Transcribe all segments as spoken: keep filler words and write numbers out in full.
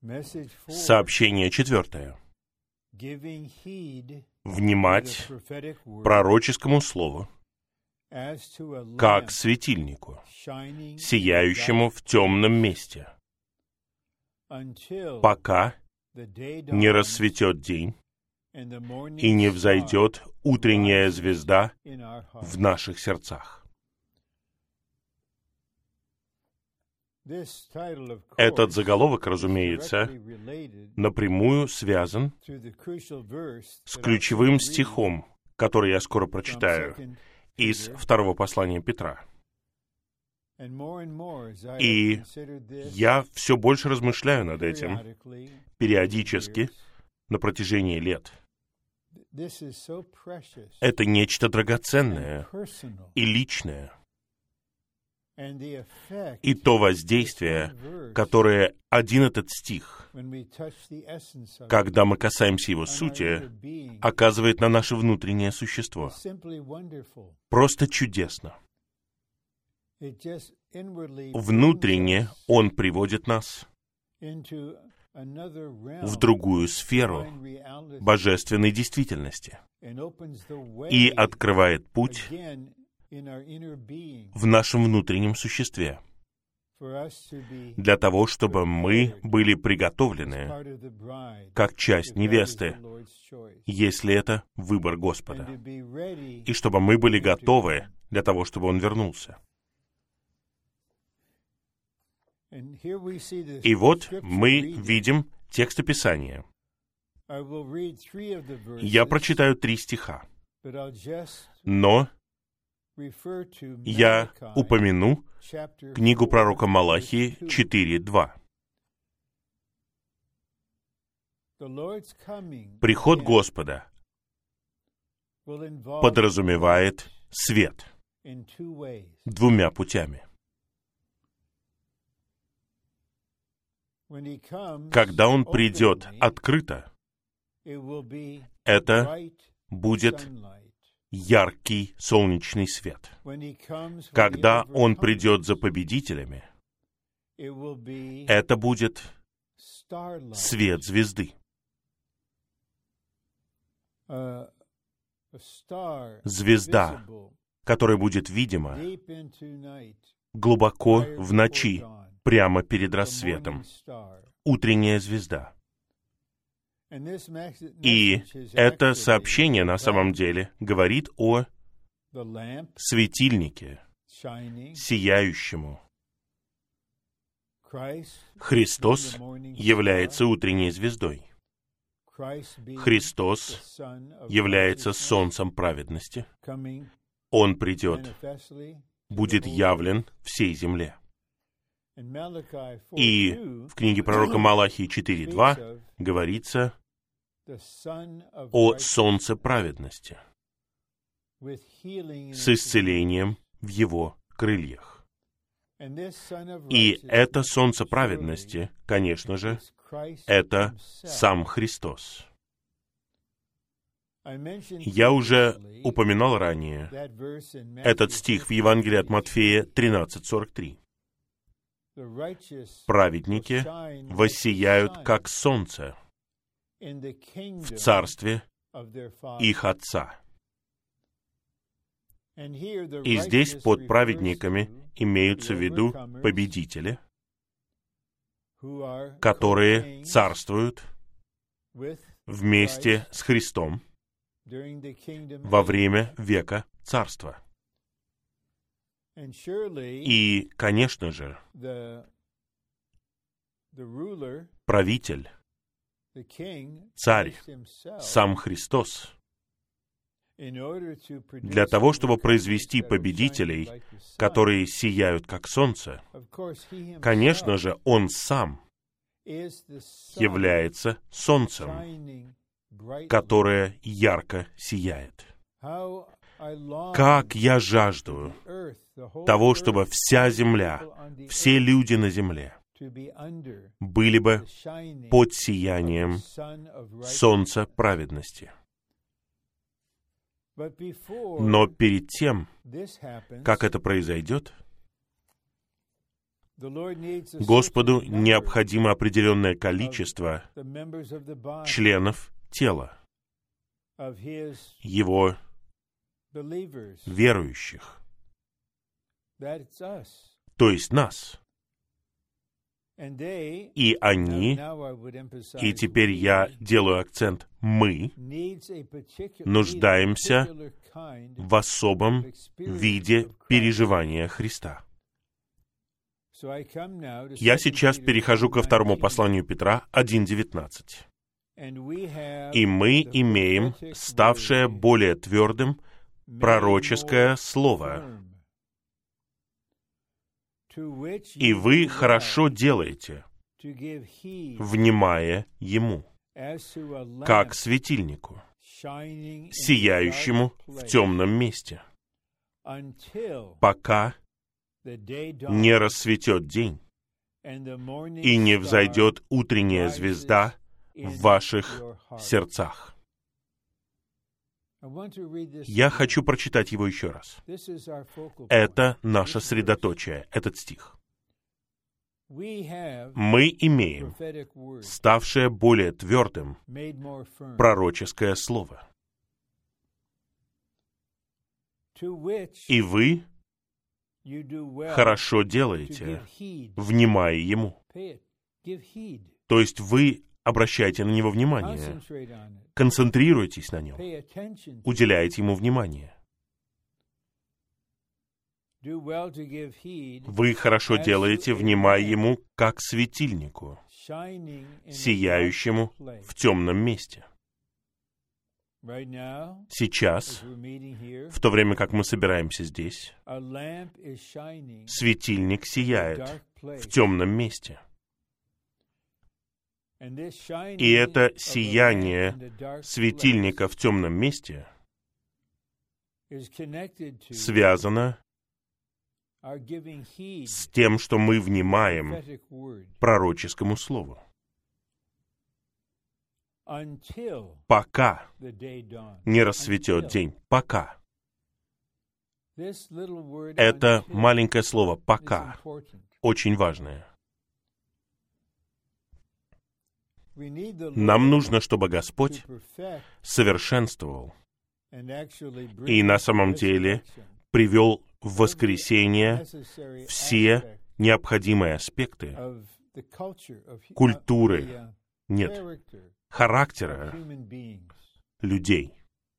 Сообщение четвертое. Внимать пророческому слову, как светильнику, сияющему в темном месте, пока не рассветет день и не взойдет утренняя звезда в наших сердцах. Этот заголовок, разумеется, напрямую связан с ключевым стихом, который я скоро прочитаю, из второго послания Петра. И я все больше размышляю над этим периодически на протяжении лет. Это нечто драгоценное и личное. И то воздействие, которое один этот стих, когда мы касаемся его сути, оказывает на наше внутреннее существо. Просто чудесно. Внутренне он приводит нас в другую сферу божественной действительности и открывает путь в нашем внутреннем существе, для того, чтобы мы были приготовлены как часть невесты, если это выбор Господа, и чтобы мы были готовы для того, чтобы Он вернулся. И вот мы видим тексты Писания. Я прочитаю три стиха, но я упомяну книгу пророка Малахии четыре два. Приход Господа подразумевает свет двумя путями. Когда Он придет открыто, это будет яркий солнечный свет. Когда Он придет за победителями, это будет свет звезды. Звезда, которая будет видима глубоко в ночи, прямо перед рассветом. Утренняя звезда. И это сообщение на самом деле говорит о светильнике, сияющему. Христос является утренней звездой. Христос является солнцем праведности. Он придет, будет явлен всей земле. И в книге пророка Малахии четыре два говорится о солнце праведности с исцелением в его крыльях. И это солнце праведности, конечно же, это сам Христос. Я уже упоминал ранее этот стих в Евангелии от Матфея тринадцать сорок три. Праведники воссияют, как солнце, в царстве их Отца. И здесь под праведниками имеются в виду победители, которые царствуют вместе с Христом во время века царства. И, конечно же, правитель, царь, сам Христос, для того, чтобы произвести победителей, которые сияют как солнце, конечно же, Он сам является солнцем, которое ярко сияет. Как я жажду того, чтобы вся земля, все люди на земле были бы под сиянием солнца праведности. Но перед тем, как это произойдет, Господу необходимо определенное количество членов тела, Его верующих, то есть нас. И они, и теперь я делаю акцент, мы нуждаемся в особом виде переживания Христа. Я сейчас перехожу ко второму посланию Петра один девятнадцать. И мы имеем ставшее более твердым пророческое слово. И вы хорошо делаете, внимая ему, как светильнику, сияющему в темном месте, пока не рассветет день и не взойдет утренняя звезда в ваших сердцах. Я хочу прочитать его еще раз. Это наше средоточие, этот стих. Мы имеем ставшее более твердым пророческое слово. И вы хорошо делаете, внимая ему. То есть вы обращайте на него внимание, концентрируйтесь на нем, уделяйте ему внимание. Вы хорошо делаете, внимая ему, как светильнику, сияющему в темном месте. Сейчас, в то время как мы собираемся здесь, светильник сияет в темном месте. И это сияние светильника в темном месте связано с тем, что мы внимаем пророческому слову. Пока не рассветет день. Пока. Это маленькое слово «пока» очень важное. Нам нужно, чтобы Господь совершенствовал и на самом деле привел в воскресение все необходимые аспекты культуры, нет, характера людей.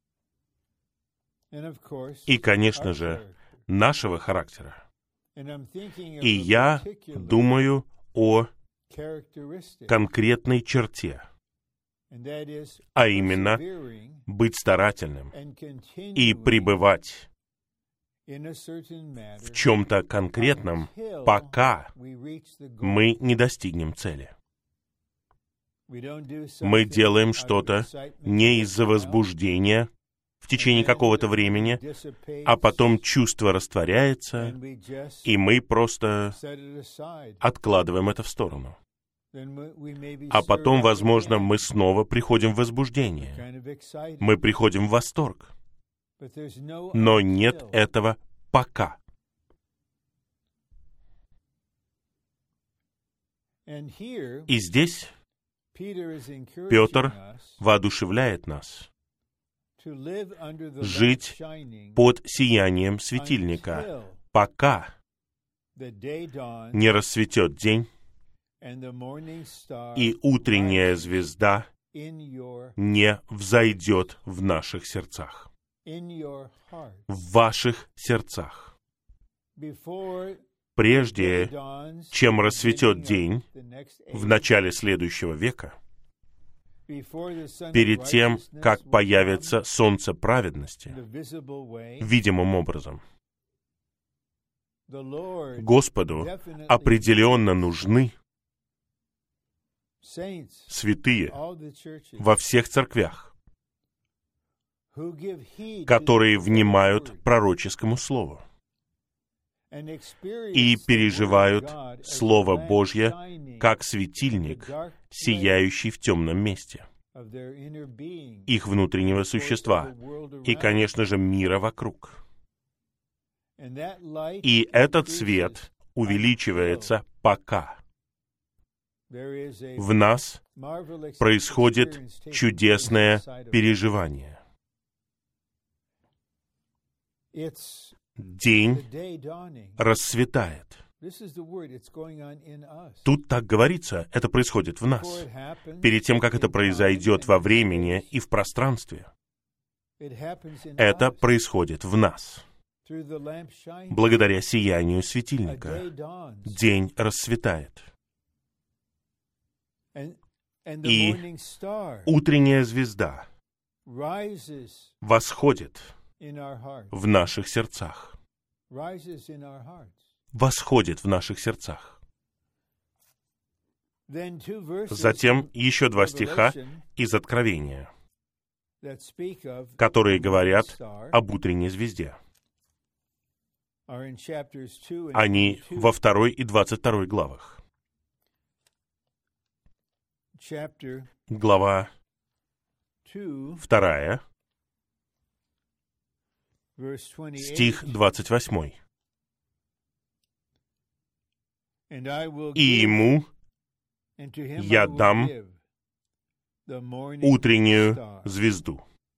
И, конечно же, нашего характера. И я думаю о конкретной черте, а именно быть старательным и пребывать в чем-то конкретном, пока мы не достигнем цели. Мы делаем что-то не из-за возбуждения в течение какого-то времени, а потом чувство растворяется, и мы просто откладываем это в сторону. А потом, возможно, мы снова приходим в возбуждение. Мы приходим в восторг. Но нет этого пока. И здесь Петр воодушевляет нас жить под сиянием светильника, пока не рассветет день, и утренняя звезда не взойдет в наших сердцах. В ваших сердцах. Прежде чем рассветет день в начале следующего века, перед тем, как появится солнце праведности, видимым образом, Господу определенно нужны святые во всех церквях, которые внимают пророческому слову и переживают Слово Божье как светильник, сияющий в темном месте их внутреннего существа и, конечно же, мира вокруг. И этот свет, увеличивается пока. В нас происходит чудесное переживание. День расцветает. Тут так говорится, это происходит в нас. Перед тем, как это произойдет во времени и в пространстве, это происходит в нас. Благодаря сиянию светильника день расцветает. И утренняя звезда восходит в наших сердцах. Восходит в наших сердцах. Затем еще два стиха из Откровения, которые говорят об утренней звезде. Они во второй и двадцать второй главах. Глава вторая, стих двадцать восьмой. «И ему я дам утреннюю звезду».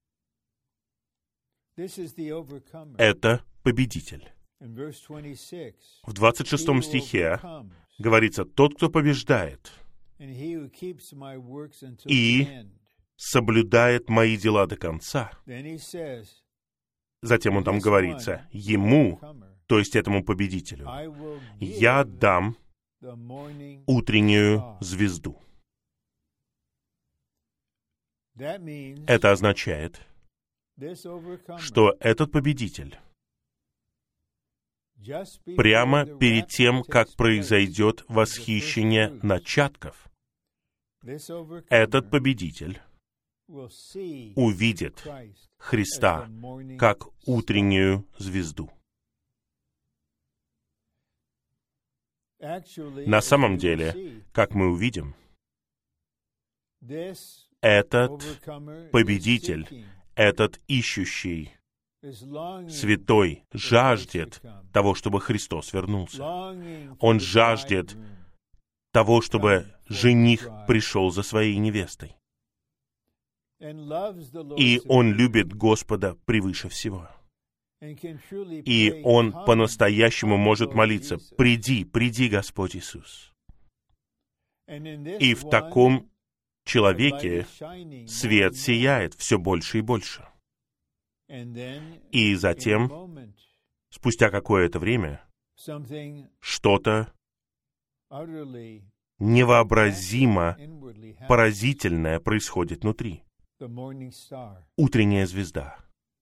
Это победитель. В двадцать шестом стихе говорится: «Тот, кто побеждает и соблюдает мои дела до конца». Затем он там говорится: «Ему», то есть этому победителю, «я дам утреннюю звезду». Это означает, что этот победитель прямо перед тем, как произойдет восхищение начатков, этот победитель увидит Христа как утреннюю звезду. На самом деле, как мы увидим, этот победитель, этот ищущий, святой, жаждет того, чтобы Христос вернулся. Он жаждет того, чтобы жених пришел за своей невестой. И он любит Господа превыше всего. И он по-настоящему может молиться: «Приди, приди, Господь Иисус». И в таком человеке свет сияет все больше и больше. И затем, спустя какое-то время, что-то невообразимо поразительное происходит внутри. Утренняя звезда.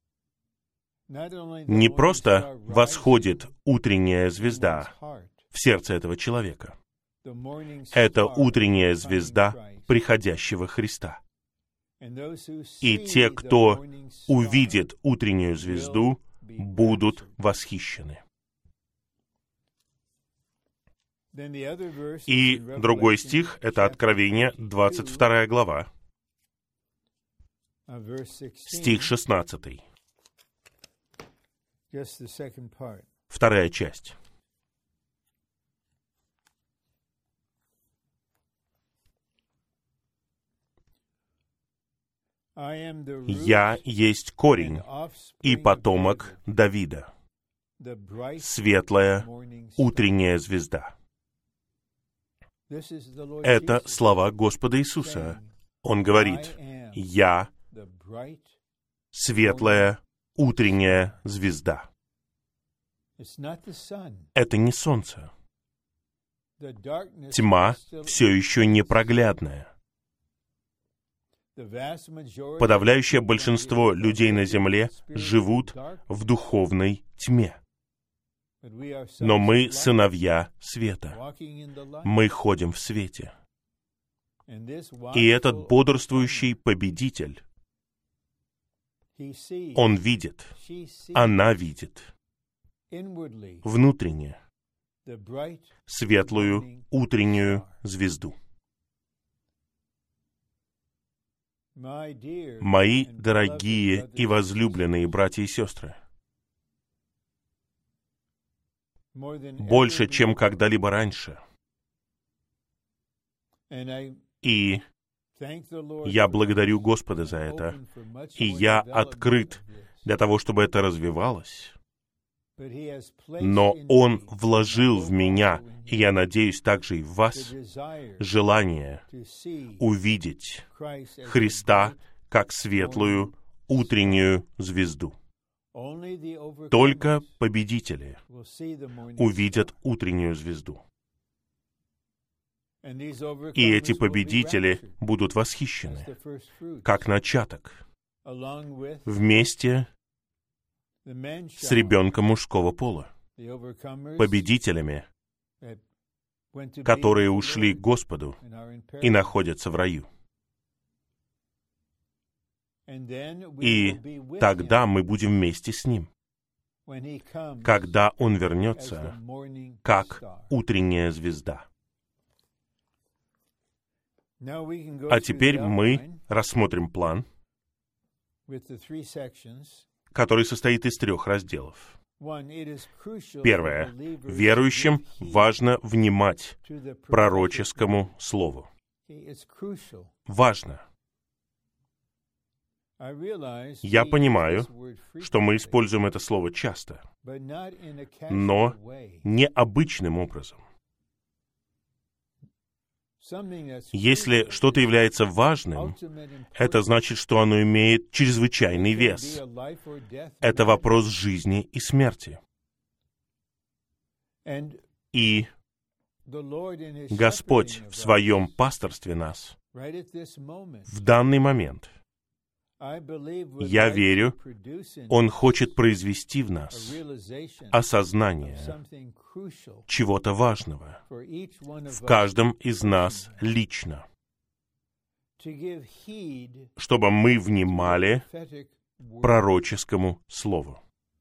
Не просто восходит утренняя звезда в сердце этого человека. Это утренняя звезда приходящего Христа. И те, кто увидит утреннюю звезду, будут восхищены. И другой стих — это Откровение, двадцать вторая глава, стих шестнадцатый. Вторая часть. «Я есть корень и потомок Давида, светлая утренняя звезда». Это слова Господа Иисуса. Он говорит: «Я светлая утренняя звезда». Это не солнце. Тьма все еще непроглядная. Подавляющее большинство людей на земле живут в духовной тьме. Но мы сыновья света. Мы ходим в свете. И этот бодрствующий победитель, он видит, она видит внутренне светлую утреннюю звезду. Мои дорогие и возлюбленные братья и сестры, больше, чем когда-либо раньше. И я благодарю Господа за это, и я открыт для того, чтобы это развивалось. Но Он вложил в меня, и я надеюсь также и в вас, желание увидеть Христа как светлую утреннюю звезду. Только победители увидят утреннюю звезду. И эти победители будут восхищены, как начаток, вместе с ребенком мужского пола, победителями, которые ушли к Господу и находятся в раю. И тогда мы будем вместе с Ним, когда Он вернется, как утренняя звезда. А теперь мы рассмотрим план, который состоит из трех разделов. Первое. Верующим важно внимать пророческому слову. Важно. Я понимаю, что мы используем это слово часто, но необычным образом. Если что-то является важным, это значит, что оно имеет чрезвычайный вес. Это вопрос жизни и смерти. И Господь в Своем пасторстве нас в данный момент, я верю, Он хочет произвести в нас осознание чего-то важного в каждом из нас лично, чтобы мы внимали пророческому слову.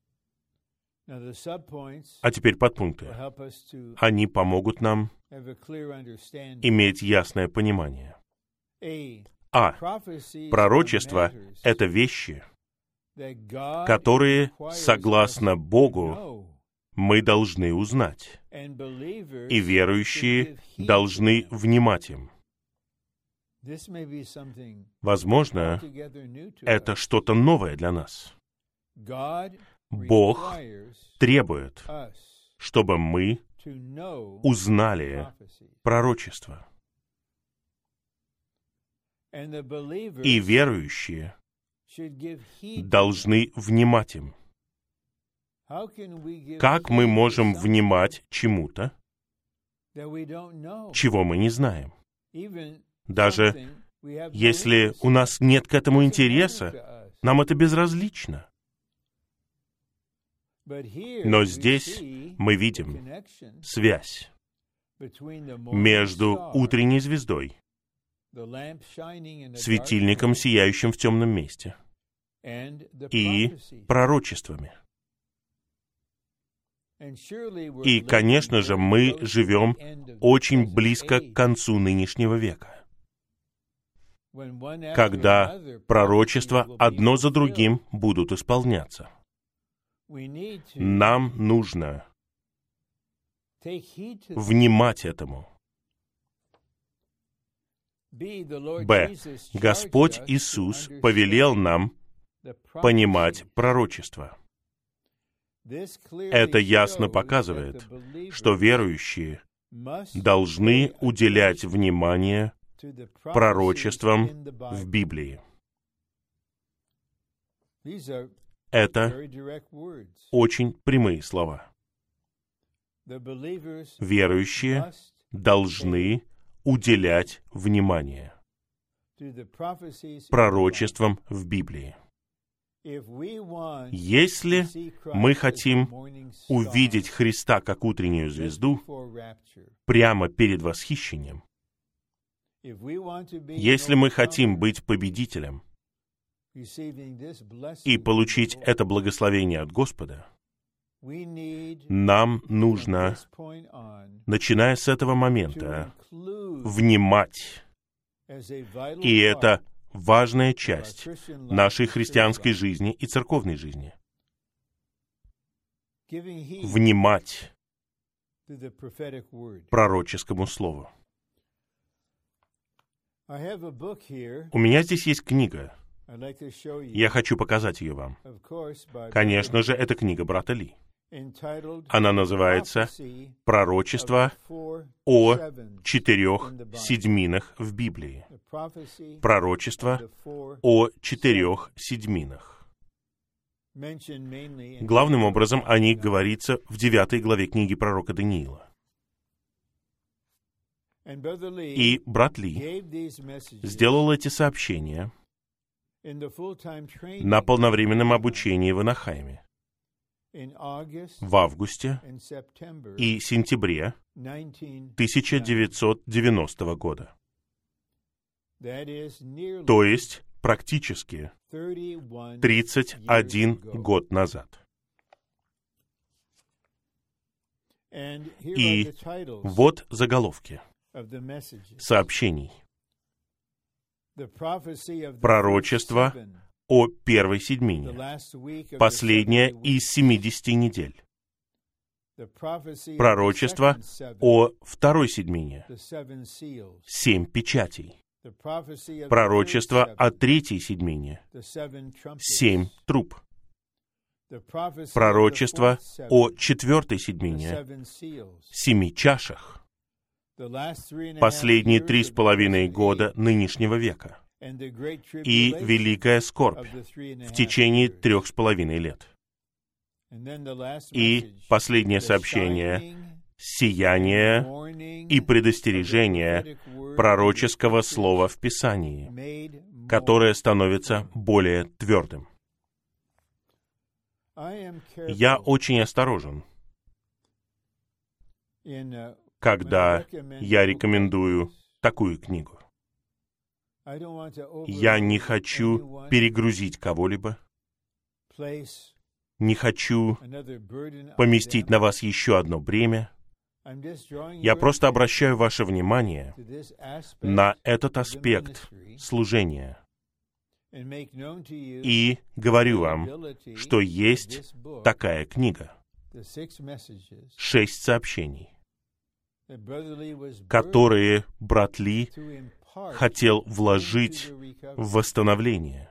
А теперь подпункты. Они помогут нам иметь ясное понимание. А. Пророчество — это вещи, которые, согласно Богу, мы должны узнать, и верующие должны внимать им. Возможно, это что-то новое для нас. Бог требует, чтобы мы узнали пророчество. И верующие должны внимать им. Как мы можем внимать чему-то, чего мы не знаем? Даже если у нас нет к этому интереса, нам это безразлично. Но здесь мы видим связь между утренней звездой, светильником, сияющим в темном месте, и пророчествами. И, конечно же, мы живем очень близко к концу нынешнего века, когда пророчества одно за другим будут исполняться. Нам нужно внимать этому. Б. Господь Иисус повелел нам понимать пророчество. Это ясно показывает, что верующие должны уделять внимание пророчествам в Библии. Это очень прямые слова. Верующие должны уделять внимание пророчествам в Библии. Если мы хотим увидеть Христа как утреннюю звезду прямо перед восхищением, если мы хотим быть победителем и получить это благословение от Господа, нам нужно, начиная с этого момента, внимать. И это важная часть нашей христианской жизни и церковной жизни. Внимать пророческому слову. У меня здесь есть книга. Я хочу показать ее вам. Конечно же, это книга брата Ли. Она называется «Пророчество о четырех седьминах в Библии». Пророчество о четырех седьминах. Главным образом о них говорится в девятой главе книги пророка Даниила. И брат Ли сделал эти сообщения на полновременном обучении в Анахайме в августе и сентябре тысяча девятьсот девяностого года. То есть практически тридцать один год назад. И вот заголовки сообщений. Пророчество о первой седьмине, последняя из семидесяти недель. Пророчество о второй седьмине, семь печатей. Пророчество о третьей седьмине, семь труб. Пророчество о четвертой седьмине, семи чашах. Последние три с половиной года нынешнего века и великая скорбь в течение трех с половиной лет. И последнее сообщение — сияние и предостережение пророческого слова в Писании, которое становится более твердым. Я очень осторожен, когда я рекомендую такую книгу. Я не хочу перегрузить кого-либо, не хочу поместить на вас еще одно бремя. Я просто обращаю ваше внимание на этот аспект служения и говорю вам, что есть такая книга, шесть сообщений, которые брат Ли хотел вложить в восстановление.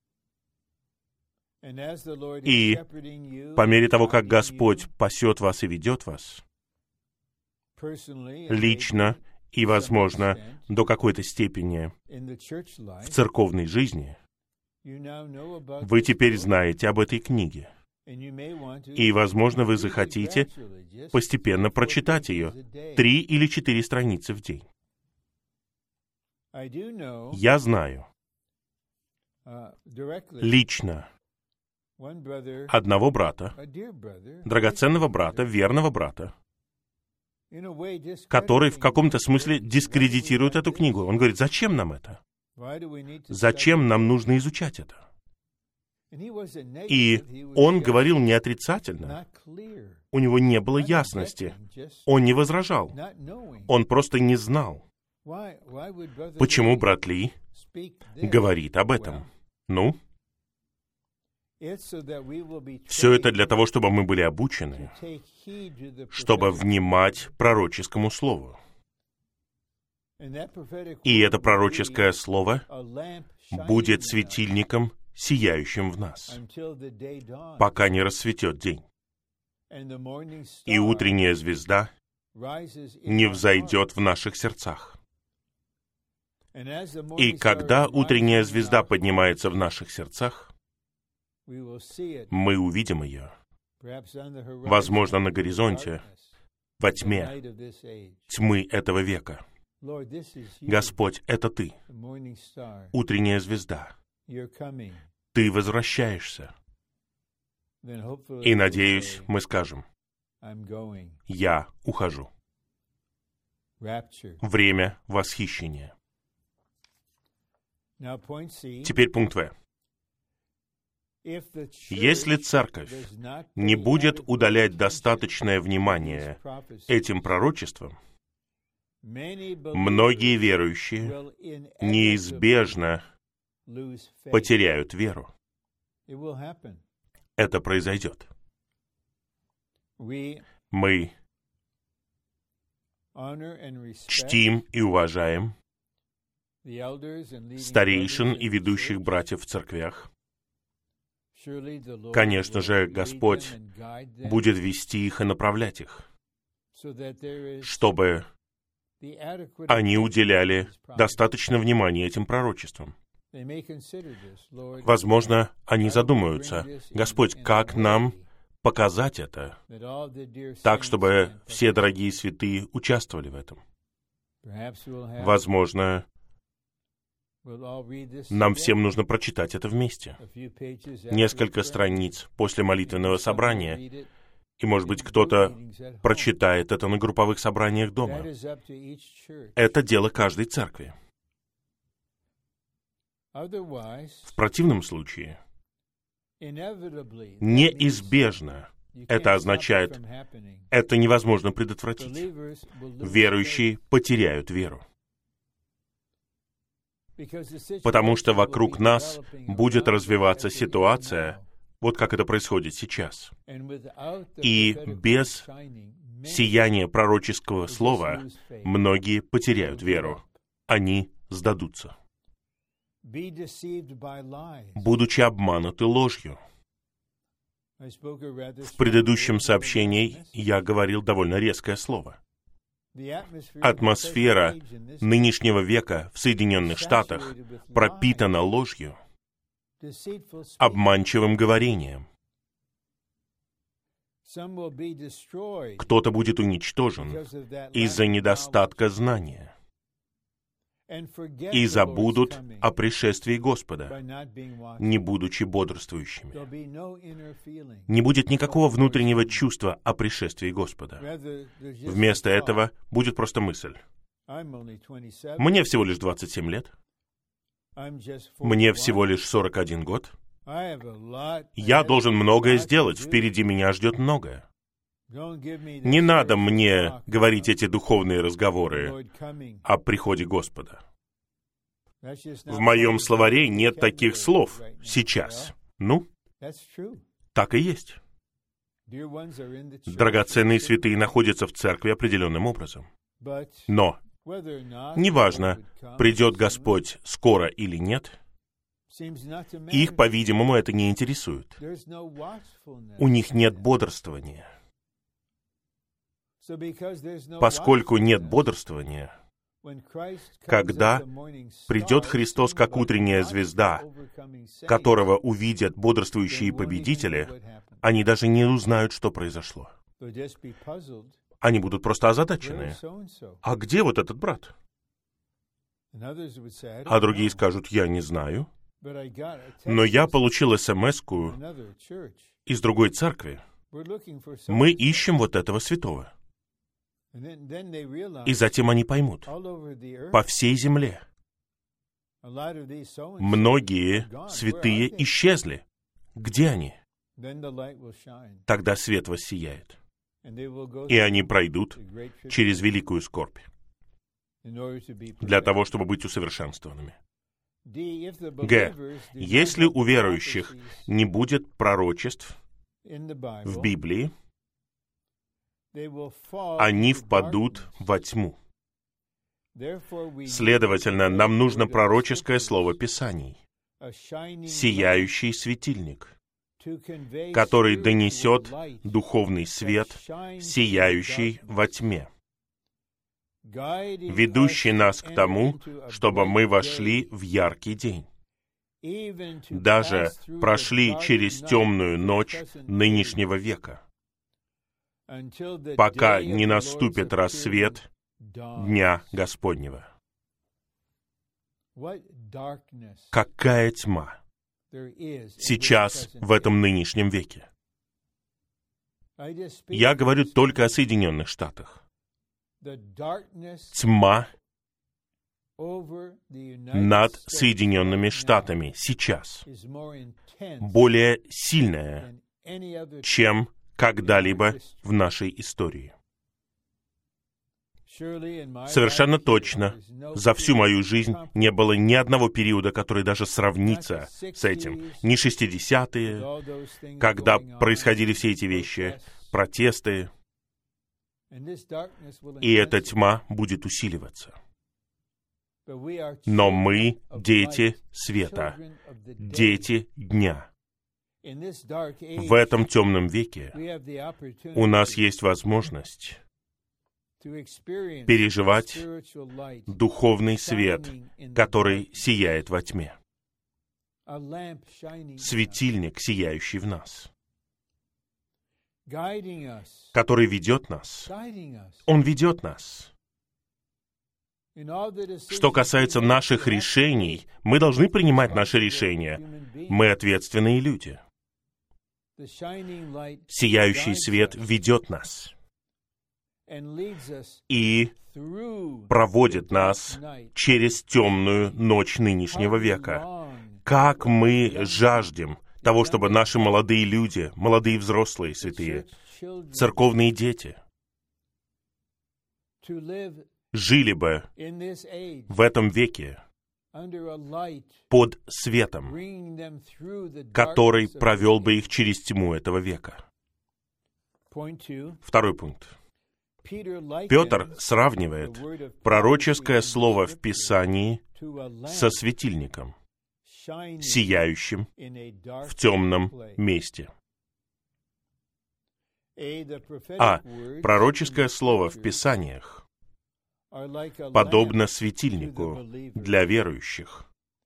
И по мере того, как Господь пасет вас и ведет вас, лично и, возможно, до какой-то степени в церковной жизни, вы теперь знаете об этой книге. И, возможно, вы захотите постепенно прочитать ее, три или четыре страницы в день. Я знаю лично одного брата, драгоценного брата, верного брата, который в каком-то смысле дискредитирует эту книгу. Он говорит: зачем нам это? Зачем нам нужно изучать это? И он говорил не отрицательно. У него не было ясности. Он не возражал. Он просто не знал. Почему брат Ли говорит об этом? Ну, все это для того, чтобы мы были обучены, чтобы внимать пророческому слову. И это пророческое слово будет светильником, сияющим в нас, пока не рассветет день. И утренняя звезда не взойдет в наших сердцах. И когда утренняя звезда поднимается в наших сердцах, мы увидим ее, возможно, на горизонте, во тьме, тьмы этого века. Господь, это Ты, утренняя звезда. Ты возвращаешься. И, надеюсь, мы скажем: я ухожу. Время восхищения. Теперь пункт В. Если церковь не будет удалять достаточное внимание этим пророчествам, многие верующие неизбежно потеряют веру. Это произойдет. Мы чтим и уважаем старейшин и ведущих братьев в церквях. Конечно же, Господь будет вести их и направлять их, чтобы они уделяли достаточно внимания этим пророчествам. Возможно, они задумаются: Господь, как нам показать это, так, чтобы все дорогие святые участвовали в этом? Возможно, нам всем нужно прочитать это вместе. Несколько страниц после молитвенного собрания, и, может быть, кто-то прочитает это на групповых собраниях дома. Это дело каждой церкви. В противном случае, неизбежно, это означает, это невозможно предотвратить. Верующие потеряют веру. Потому что вокруг нас будет развиваться ситуация, вот как это происходит сейчас. И без сияния пророческого слова многие потеряют веру. Они сдадутся, будучи обмануты ложью. В предыдущем сообщении я говорил довольно резкое слово. Атмосфера нынешнего века в Соединенных Штатах пропитана ложью, обманчивым говорением. Кто-то будет уничтожен из-за недостатка знания и забудут о пришествии Господа, не будучи бодрствующими. Не будет никакого внутреннего чувства о пришествии Господа. Вместо этого будет просто мысль: «Мне всего лишь двадцать семь лет, мне всего лишь сорок один год, я должен многое сделать, впереди меня ждет многое. Не надо мне говорить эти духовные разговоры о приходе Господа. В моем словаре нет таких слов сейчас». Ну, так и есть. Драгоценные святые находятся в церкви определенным образом. Но, неважно, придет Господь скоро или нет, их, по-видимому, это не интересует. У них нет бодрствования. Поскольку нет бодрствования, когда придет Христос как утренняя звезда, которого увидят бодрствующие победители, они даже не узнают, что произошло. Они будут просто озадачены. А где вот этот брат? А другие скажут: я не знаю, но я получил эс-эм-эску из другой церкви. Мы ищем вот этого святого. И затем они поймут: по всей земле многие святые исчезли. Где они? Тогда свет воссияет, и они пройдут через великую скорбь для того, чтобы быть усовершенствованными. Г. Если у верующих не будет пророчеств в Библии, они впадут во тьму. Следовательно, нам нужно пророческое слово Писаний, сияющий светильник, который донесет духовный свет, сияющий во тьме, ведущий нас к тому, чтобы мы вошли в яркий день, даже прошли через темную ночь нынешнего века, пока не наступит рассвет Дня Господнего. Какая тьма сейчас в этом нынешнем веке? Я говорю только о Соединенных Штатах. Тьма над Соединенными Штатами сейчас более сильная, чем когда-либо в нашей истории. Совершенно точно, за всю мою жизнь не было ни одного периода, который даже сравнится с этим. Ни шестидесятые, когда происходили все эти вещи, протесты. И эта тьма будет усиливаться. Но мы — дети света, дети дня. В этом темном веке у нас есть возможность переживать духовный свет, который сияет во тьме. Светильник, сияющий в нас, который ведет нас. Он ведет нас. Что касается наших решений, мы должны принимать наши решения. Мы ответственные люди. Сияющий свет ведет нас и проводит нас через темную ночь нынешнего века. Как мы жаждем того, чтобы наши молодые люди, молодые взрослые святые, церковные дети, жили бы в этом веке под светом, который провел бы их через тьму этого века. Второй пункт. Петр сравнивает пророческое слово в Писании со светильником, сияющим в темном месте. А пророческое слово в Писаниях подобно светильнику для верующих,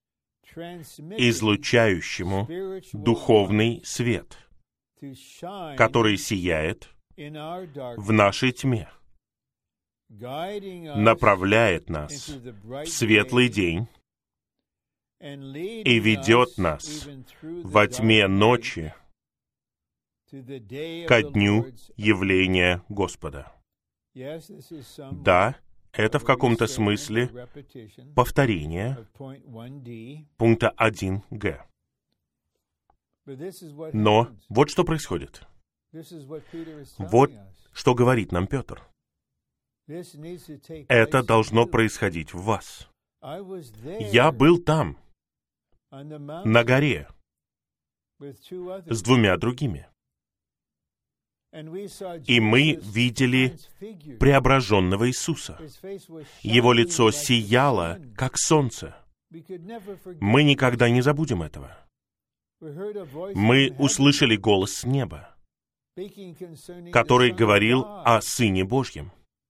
излучающему духовный свет, который сияет в нашей тьме, направляет нас в светлый день и ведет нас во тьме ночи ко дню явления Господа. Да, это в каком-то смысле повторение пункта один гэ. Но вот что происходит. Вот что говорит нам Петр. Это должно происходить в вас. Я был там, на горе, с двумя другими. И мы видели преображенного Иисуса. Его лицо сияло, как солнце. Мы никогда не забудем этого. Мы услышали голос с неба, который говорил о Сыне Божьем.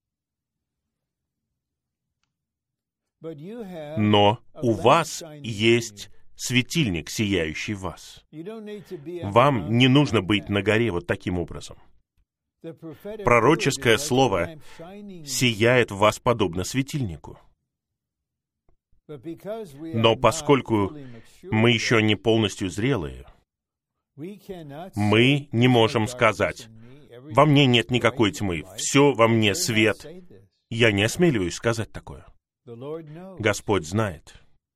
Но у вас есть светильник, сияющий в вас. Вам не нужно быть на горе вот таким образом. Пророческое слово сияет в вас подобно светильнику. Но поскольку мы еще не полностью зрелые, мы не можем сказать: «Во мне нет никакой тьмы, все во мне свет». Я не осмеливаюсь сказать такое. Господь знает.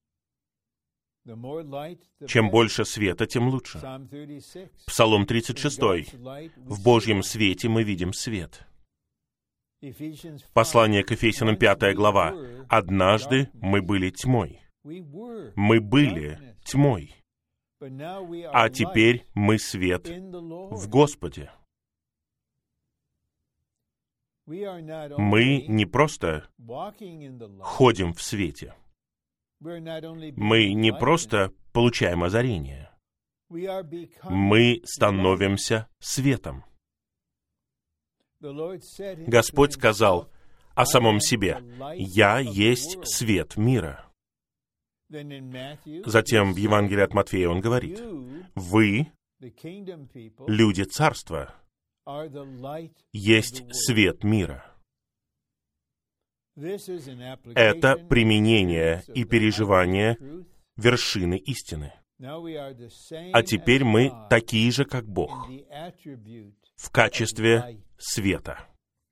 Чем больше света, тем лучше. Псалом тридцать шесть. В Божьем свете мы видим свет. Послание к Ефесянам, пятая глава. Однажды мы были тьмой. Мы были тьмой. А теперь мы свет в Господе. Мы не просто ходим в свете. Мы не просто получаем озарение. Мы становимся светом. Господь сказал о самом себе: «Я есть свет мира». Затем в Евангелии от Матфея он говорит: «Вы, люди царства, есть свет мира». Это применение и переживание вершины истины. А теперь мы такие же, как Бог, в качестве света.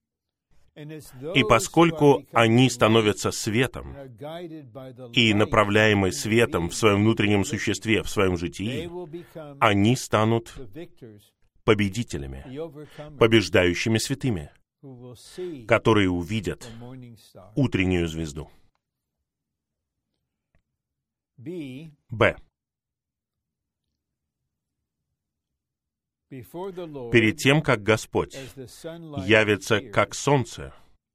И поскольку они становятся светом и направляемы светом в своем внутреннем существе, в своем житии, они станут победителями, побеждающими святыми, которые увидят утреннюю звезду. Б. Перед тем, как Господь явится как солнце,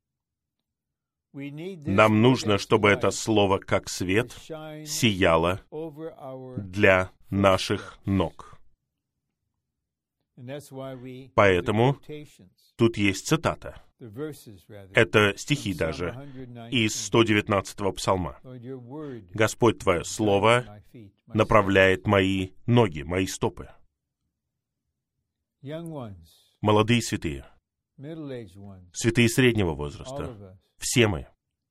нам нужно, чтобы это слово как свет сияло для наших ног. Поэтому тут есть цитата. Это стихи даже из сто девятнадцатого псалма. «Господь, Твое Слово направляет мои ноги, мои стопы». Молодые святые, святые среднего возраста, все мы.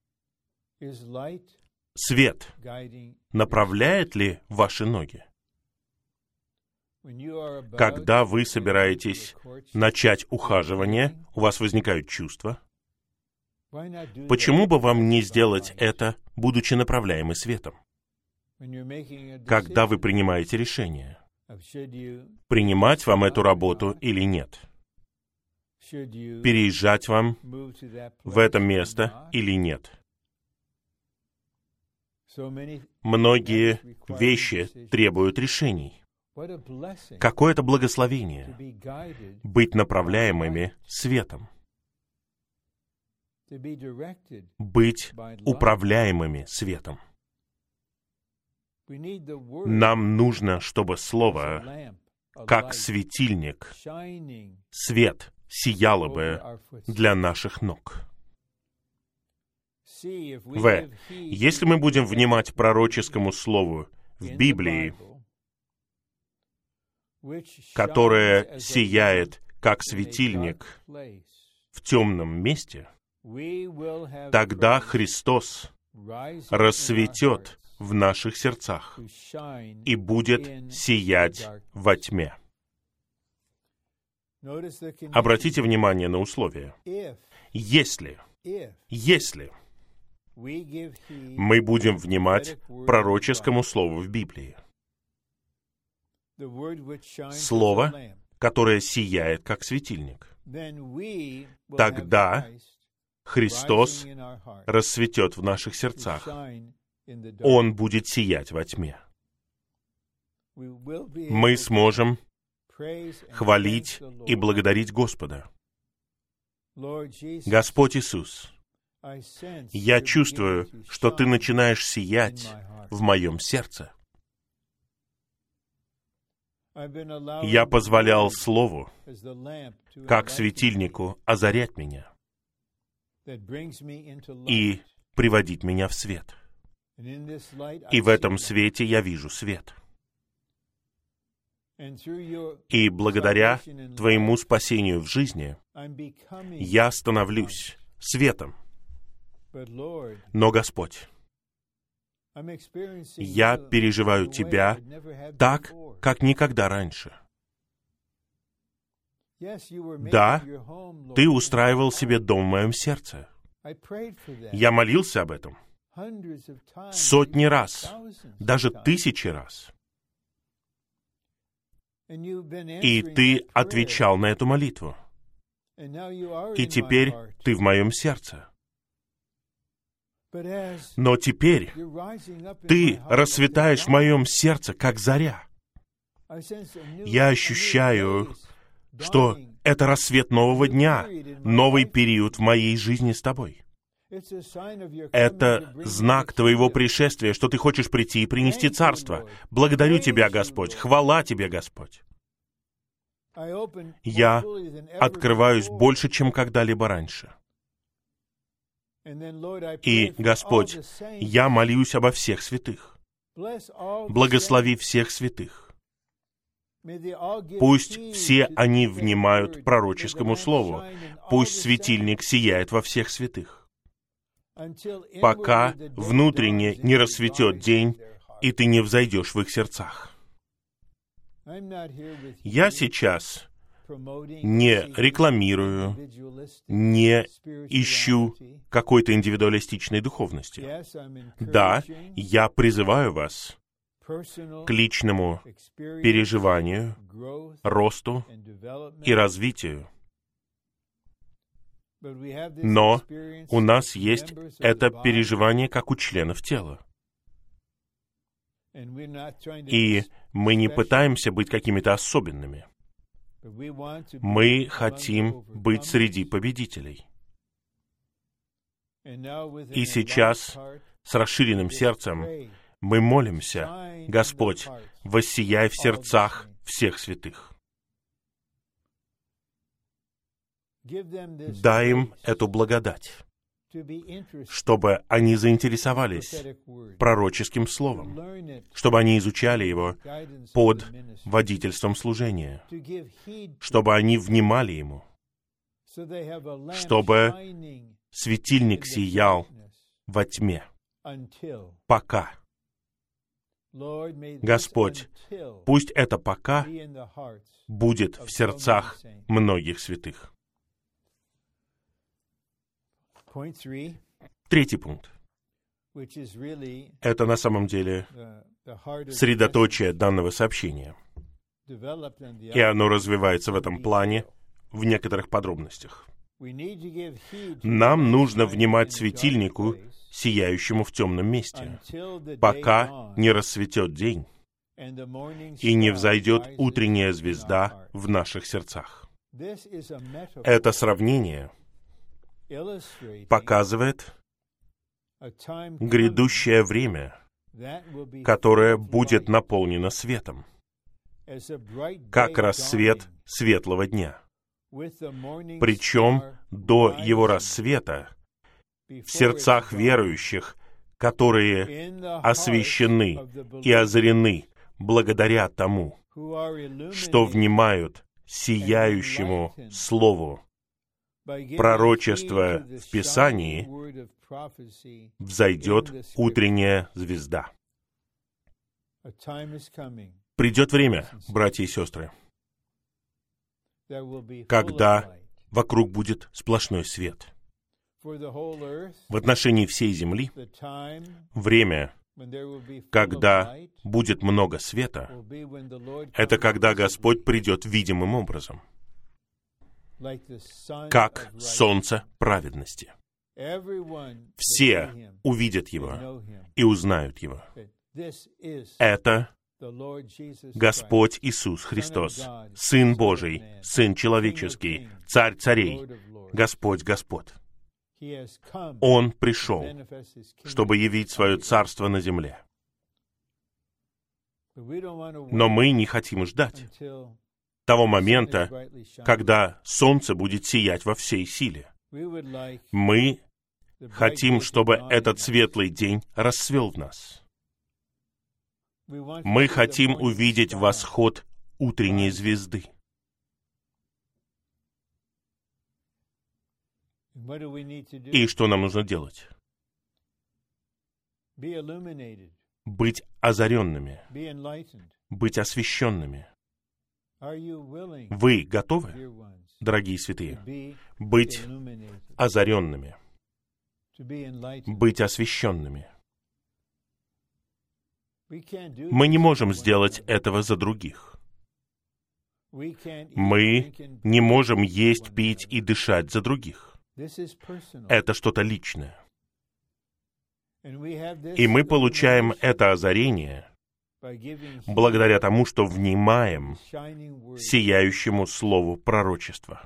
Свет направляет ли ваши ноги? Когда вы собираетесь начать ухаживание, у вас возникают чувства. Почему бы вам не сделать это, будучи направляемы светом? Когда вы принимаете решение, принимать вам эту работу или нет? Переезжать вам в это место или нет? Многие вещи требуют решений. Какое это благословение быть направляемыми светом, быть управляемыми светом. Нам нужно, чтобы Слово, как светильник, свет сияло бы для наших ног. В. Если мы будем внимать пророческому слову в Библии, которое сияет, как светильник, в темном месте, тогда Христос рассветет в наших сердцах и будет сиять во тьме. Обратите внимание на условия. Если, если мы будем внимать пророческому слову в Библии, Слово, которое сияет, как светильник, тогда Христос рассветет в наших сердцах. Он будет сиять во тьме. Мы сможем хвалить и благодарить Господа. Господь Иисус, я чувствую, что Ты начинаешь сиять в моем сердце. Я позволял Слову, как светильнику, озарять меня и приводить меня в свет. И в этом свете я вижу свет. И благодаря Твоему спасению в жизни я становлюсь светом. Но, Господь, я переживаю Тебя так, как никогда раньше. Да, Ты устраивал себе дом в моем сердце. Я молился об этом сотни раз, даже тысячи раз. И Ты отвечал на эту молитву. И теперь Ты в моем сердце. Но теперь Ты расцветаешь в моем сердце, как заря. Я ощущаю, что это рассвет нового дня, новый период в моей жизни с Тобой. Это знак Твоего пришествия, что Ты хочешь прийти и принести царство. Благодарю Тебя, Господь. Хвала Тебе, Господь. Я открываюсь больше, чем когда-либо раньше. И, Господь, я молюсь обо всех святых. Благослови всех святых. Пусть все они внимают пророческому слову. Пусть светильник сияет во всех святых, пока внутренне не расцветет день, и ты не взойдешь в их сердцах. Я сейчас не рекламирую, не ищу какой-то индивидуалистичной духовности. Да, я призываю вас к личному переживанию, росту и развитию. Но у нас есть это переживание, как у членов тела. И мы не пытаемся быть какими-то особенными. Мы хотим быть среди победителей. И сейчас, с расширенным сердцем, мы молимся: Господь, воссияй в сердцах всех святых. Дай им эту благодать, чтобы они заинтересовались пророческим словом, чтобы они изучали его под водительством служения, чтобы они внимали ему, чтобы светильник сиял во тьме, пока. Господь, пусть это «пока» будет в сердцах многих святых. Третий пункт. Это на самом деле средоточие данного сообщения. И оно развивается в этом плане в некоторых подробностях. Нам нужно внимать светильнику, сияющему в темном месте, пока не рассветет день и не взойдет утренняя звезда в наших сердцах. Это сравнение показывает грядущее время, которое будет наполнено светом, как рассвет светлого дня. Причем до его рассвета в сердцах верующих, которые освящены и озарены благодаря тому, что внимают сияющему Слову пророчества в Писании, взойдет утренняя звезда. Придет время, братья и сестры, когда вокруг будет сплошной свет. В отношении всей земли время, когда будет много света, это когда Господь придет видимым образом, как солнце праведности. Все увидят Его и узнают Его. Это Господь Иисус Христос, Сын Божий, Сын Человеческий, Царь Царей, Господь Господ. Он пришел, чтобы явить свое царство на земле. Но мы не хотим ждать того момента, когда солнце будет сиять во всей силе. Мы хотим, чтобы этот светлый день расцвел в нас. Мы хотим увидеть восход утренней звезды. И что нам нужно делать? Быть озаренными, быть освященными. Вы готовы, дорогие святые, быть озаренными, быть освященными? Мы не можем сделать этого за других. Мы не можем есть, пить и дышать за других. Это что-то личное. И мы получаем это озарение благодаря тому, что внимаем сияющему слову пророчества.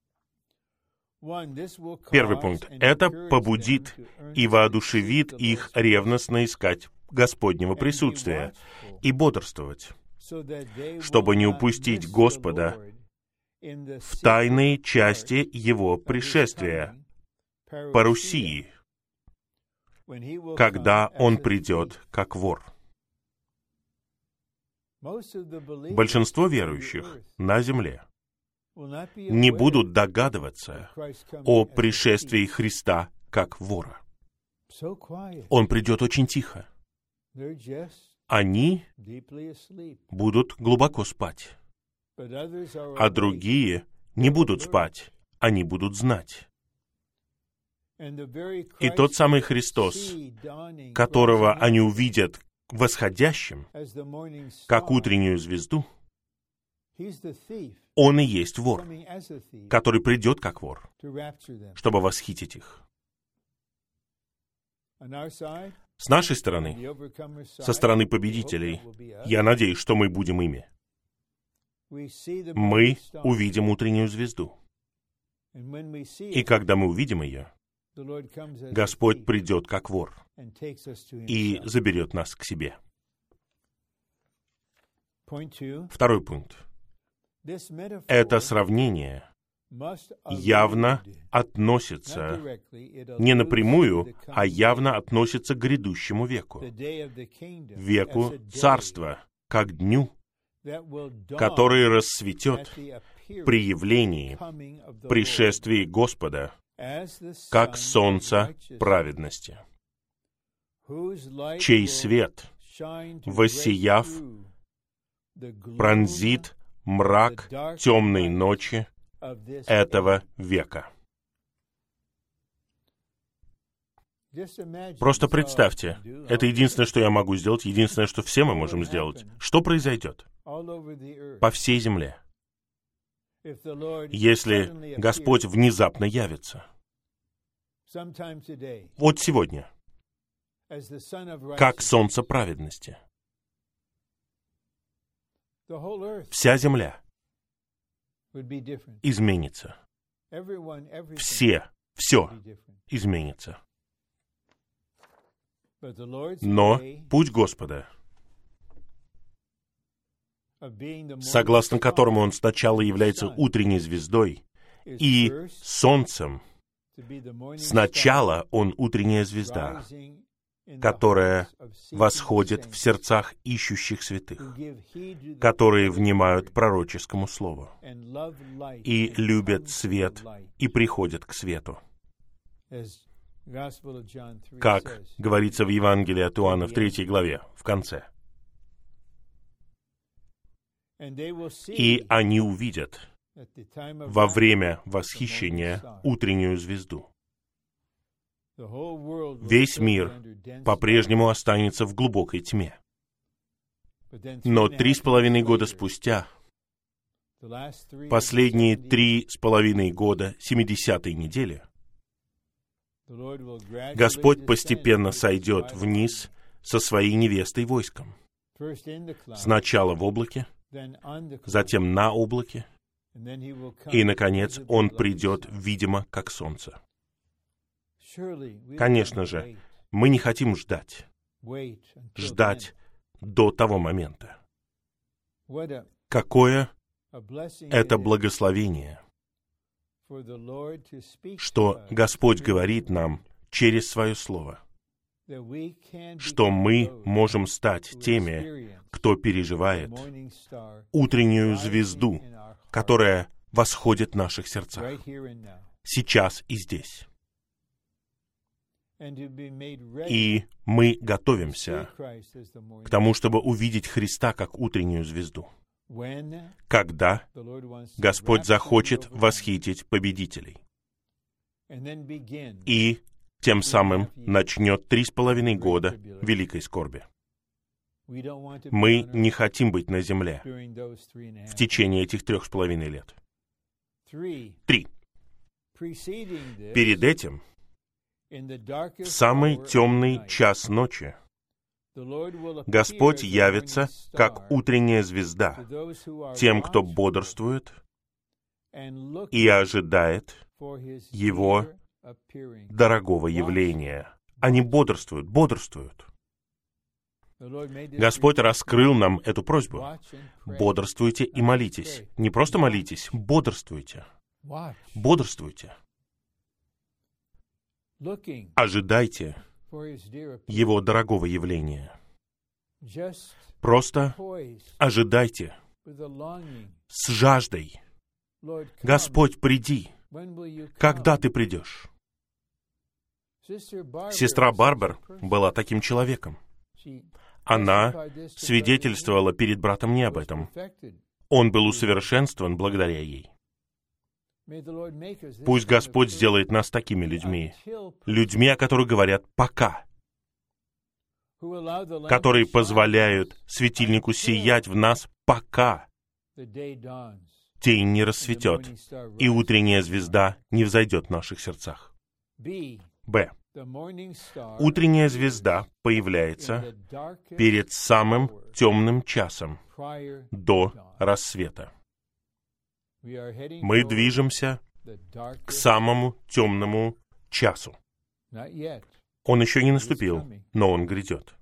Первый пункт. Это побудит и воодушевит их ревностно искать Господнего присутствия и бодрствовать, чтобы не упустить Господа в тайной части Его пришествия, парусии, когда Он придет как вор. Большинство верующих на земле не будут догадываться о пришествии Христа как вора. Он придет очень тихо. Они будут глубоко спать, а другие не будут спать, они будут знать. И тот самый Христос, которого они увидят восходящим, как утреннюю звезду, Он и есть вор, который придет как вор, чтобы восхитить их. С нашей стороны, со стороны победителей, я надеюсь, что мы будем ими. мы увидим утреннюю звезду. И когда мы увидим ее, Господь придет как вор и заберет нас к себе. Второй пункт. Это сравнение явно относится не напрямую, а явно относится к грядущему веку, веку царства, как дню, который расцветет при явлении, пришествии Господа, как солнце праведности, чей свет, воссияв, пронзит мрак темной ночи этого века. Просто представьте, это единственное, что я могу сделать, единственное, что все мы можем сделать. Что произойдет по всей земле, если Господь внезапно явится? Вот сегодня, как солнце праведности. Вся земля изменится. Все, все изменится. Но путь Господа, согласно которому Он сначала является утренней звездой и солнцем, сначала Он утренняя звезда, которая восходит в сердцах ищущих святых, которые внимают пророческому слову и любят свет и приходят к свету. Как говорится в Евангелии от Иоанна в третьей главе, в конце. И они увидят во время восхищения утреннюю звезду. Весь мир по-прежнему останется в глубокой тьме. Но три с половиной года спустя, последние три с половиной года семидесятой недели, Господь постепенно сойдет вниз со своей невестой войском. Сначала в облаке, затем на облаке, и, наконец, Он придет, видимо, как солнце. Конечно же, мы не хотим ждать, ждать до того момента. Какое это благословение, что Господь говорит нам через Свое Слово, что мы можем стать теми, кто переживает утреннюю звезду, которая восходит в наших сердцах, сейчас и здесь. И мы готовимся к тому, чтобы увидеть Христа как утреннюю звезду, когда Господь захочет восхитить победителей. И тем самым начнет три с половиной года великой скорби. Мы не хотим быть на земле в течение этих трех с половиной лет. Три. Перед этим, в самый темный час ночи, Господь явится, как утренняя звезда, тем, кто бодрствует и ожидает Его дорогого явления. Они бодрствуют, бодрствуют. Господь раскрыл нам эту просьбу. Бодрствуйте и молитесь. Не просто молитесь, бодрствуйте. Бодрствуйте. Ожидайте Его дорогого явления. Просто ожидайте с жаждой. Господь, приди. Когда Ты придешь? Сестра Барбар была таким человеком. Она свидетельствовала перед братом не об этом. Он был усовершенствован благодаря ей. Пусть Господь сделает нас такими людьми, людьми, о которых говорят «пока», которые позволяют светильнику сиять в нас, пока тень не расцветет, и утренняя звезда не взойдет в наших сердцах. Б. Утренняя звезда появляется перед самым темным часом до рассвета. Мы движемся к самому темному часу. Он еще не наступил, но он грядет.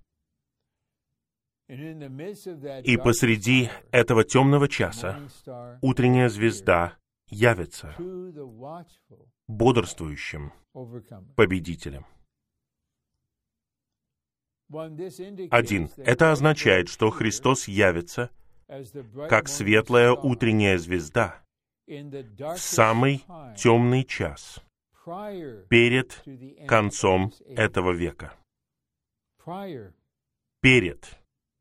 И посреди этого темного часа утренняя звезда явится бодрствующим победителем. Один. Это означает, что Христос явится как светлая утренняя звезда в самый темный час перед концом этого века. Перед.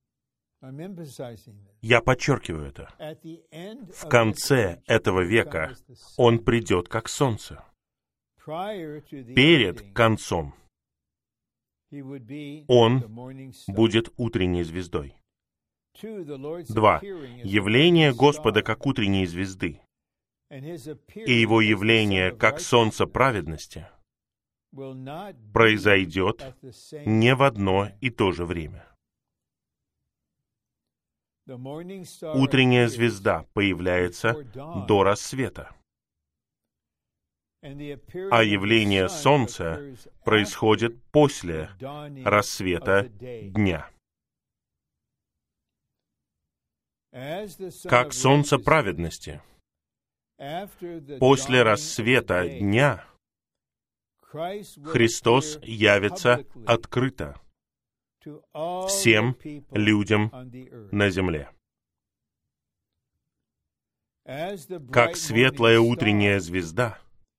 Я подчеркиваю это. В конце этого века Он придет как солнце. Перед концом Он будет утренней звездой. Два. Явление Господа как утренней звезды и Его явление как солнце праведности произойдет не в одно и то же время. Утренняя звезда появляется до рассвета, а явление солнца происходит после рассвета дня. Как солнце праведности после рассвета дня Христос явится открыто всем людям на земле. Как светлая утренняя звезда,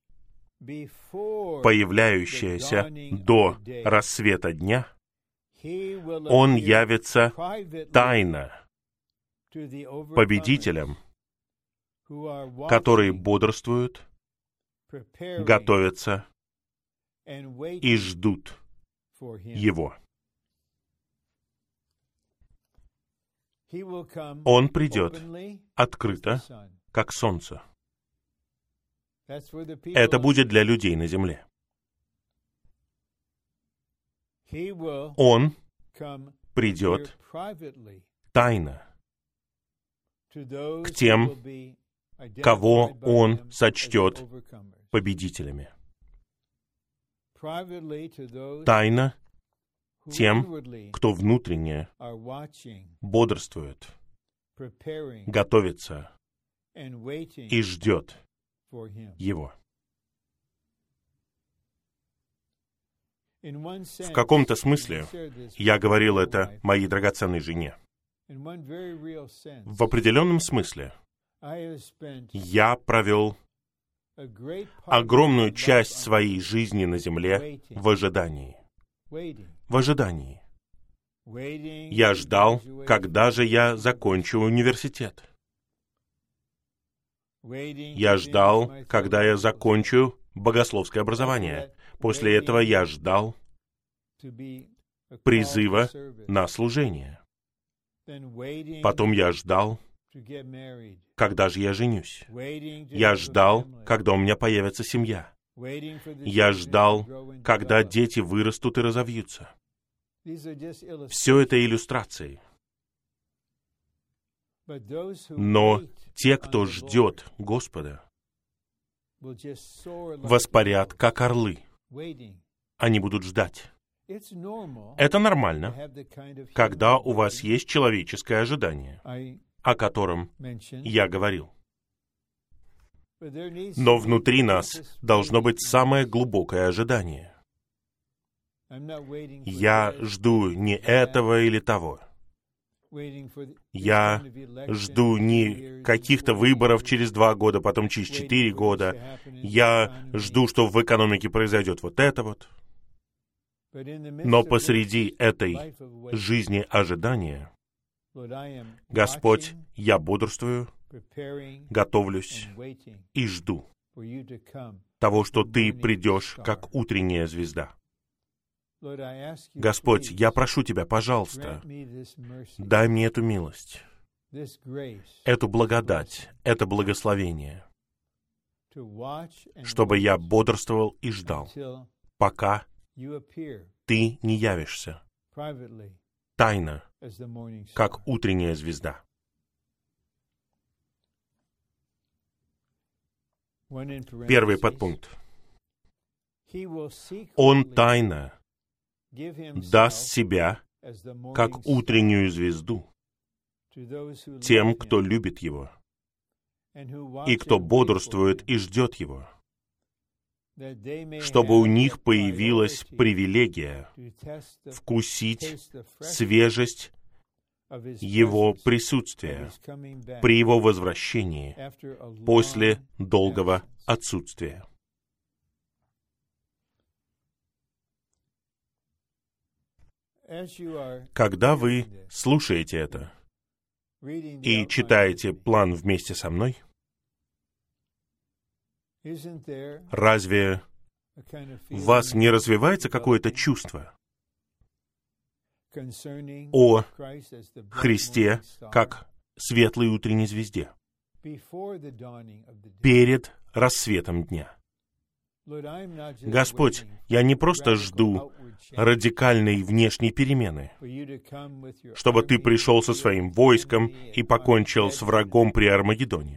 появляющаяся до рассвета дня, Он явится тайно победителям, которые бодрствуют, готовятся и ждут Его. Он придет открыто, как солнце. Это будет для людей на земле. Он придет тайно к тем, кого Он сочтет победителями. Тайно тем, кто внутренне бодрствует, готовится и ждет Его. В каком-то смысле я говорил это моей драгоценной жене. В определенном смысле я провел огромную часть своей жизни на земле в ожидании. В ожидании. Я ждал, когда же я закончу университет. Я ждал, когда я закончу богословское образование. После этого я ждал призыва на служение. Потом я ждал, когда же я женюсь. Я ждал, когда у меня появится семья. Я ждал, когда дети вырастут и разовьются. Все это иллюстрации. Но те, кто ждет Господа, воспарят, как орлы. Они будут ждать. Это нормально, когда у вас есть человеческое ожидание, о котором я говорил. Но внутри нас должно быть самое глубокое ожидание. Я жду не этого или того. Я жду не каких-то выборов через два года, потом через четыре года. Я жду, что в экономике произойдет вот это вот. Но посреди этой жизни ожидания, Господь, я бодрствую, готовлюсь и жду того, что Ты придешь, как утренняя звезда. Господь, я прошу Тебя, пожалуйста, дай мне эту милость, эту благодать, это благословение, чтобы я бодрствовал и ждал, пока Ты не явишься тайно, как утренняя звезда. Первый подпункт. Он тайно даст себя как утреннюю звезду тем, кто любит Его, и кто бодрствует и ждет Его, чтобы у них появилась привилегия вкусить свежесть Его присутствия при Его возвращении после долгого отсутствия. Когда вы слушаете это и читаете план вместе со мной, разве в вас не развивается какое-то чувство о Христе как светлой утренней звезде перед рассветом дня? Господь, я не просто жду радикальной внешней перемены, чтобы Ты пришел со своим войском и покончил с врагом при Армагеддоне.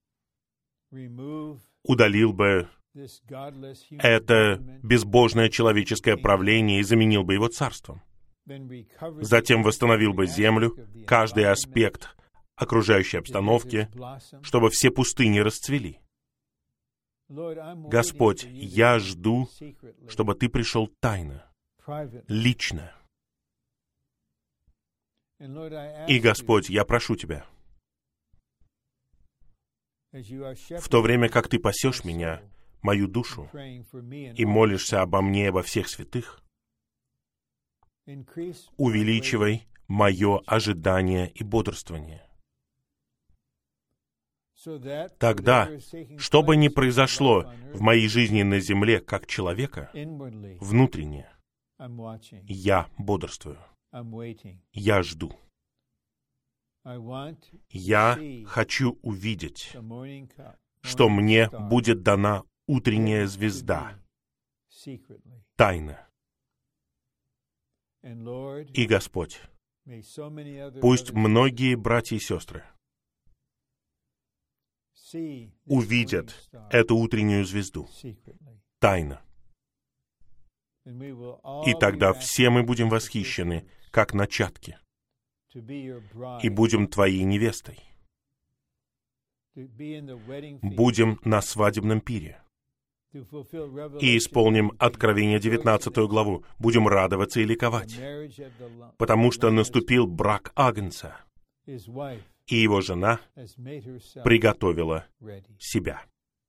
Удалил бы это безбожное человеческое правление и заменил бы его царством. Затем восстановил бы землю, каждый аспект окружающей обстановки, чтобы все пустыни расцвели. Господь, я жду, чтобы Ты пришел тайно, лично. И, Господь, я прошу Тебя, в то время как Ты пасешь меня, мою душу, и молишься обо мне и обо всех святых, увеличивай мое ожидание и бодрствование. Тогда, что бы ни произошло в моей жизни на земле как человека, внутренне, я бодрствую, я жду. Я хочу увидеть, что мне будет дана утренняя звезда, тайна. И, Господь, пусть многие братья и сестры увидят эту утреннюю звезду, тайно. И тогда все мы будем восхищены, как начатки, и будем Твоей невестой. Будем на свадебном пире. И исполним Откровение девятнадцатую главу. Будем радоваться и ликовать, потому что наступил брак Агнца, и его жена приготовила себя.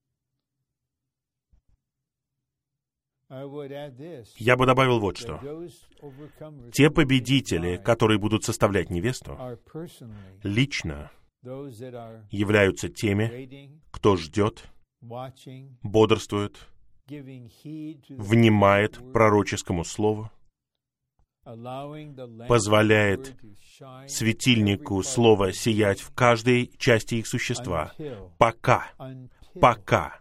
Я бы добавил вот что. Те победители, которые будут составлять невесту, лично являются теми, кто ждет, бодрствует, внимает пророческому слову, позволяет светильнику слова сиять в каждой части их существа, пока, пока,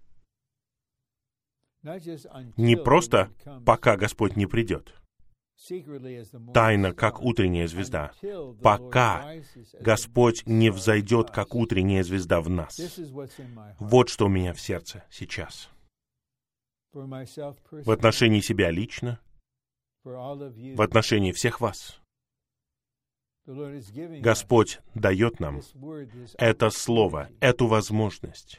не просто пока Господь не придет, тайно, как утренняя звезда, пока Господь не взойдет, как утренняя звезда в нас. Вот что у меня в сердце сейчас. В отношении себя лично, в отношении всех вас. Господь дает нам это слово, эту возможность,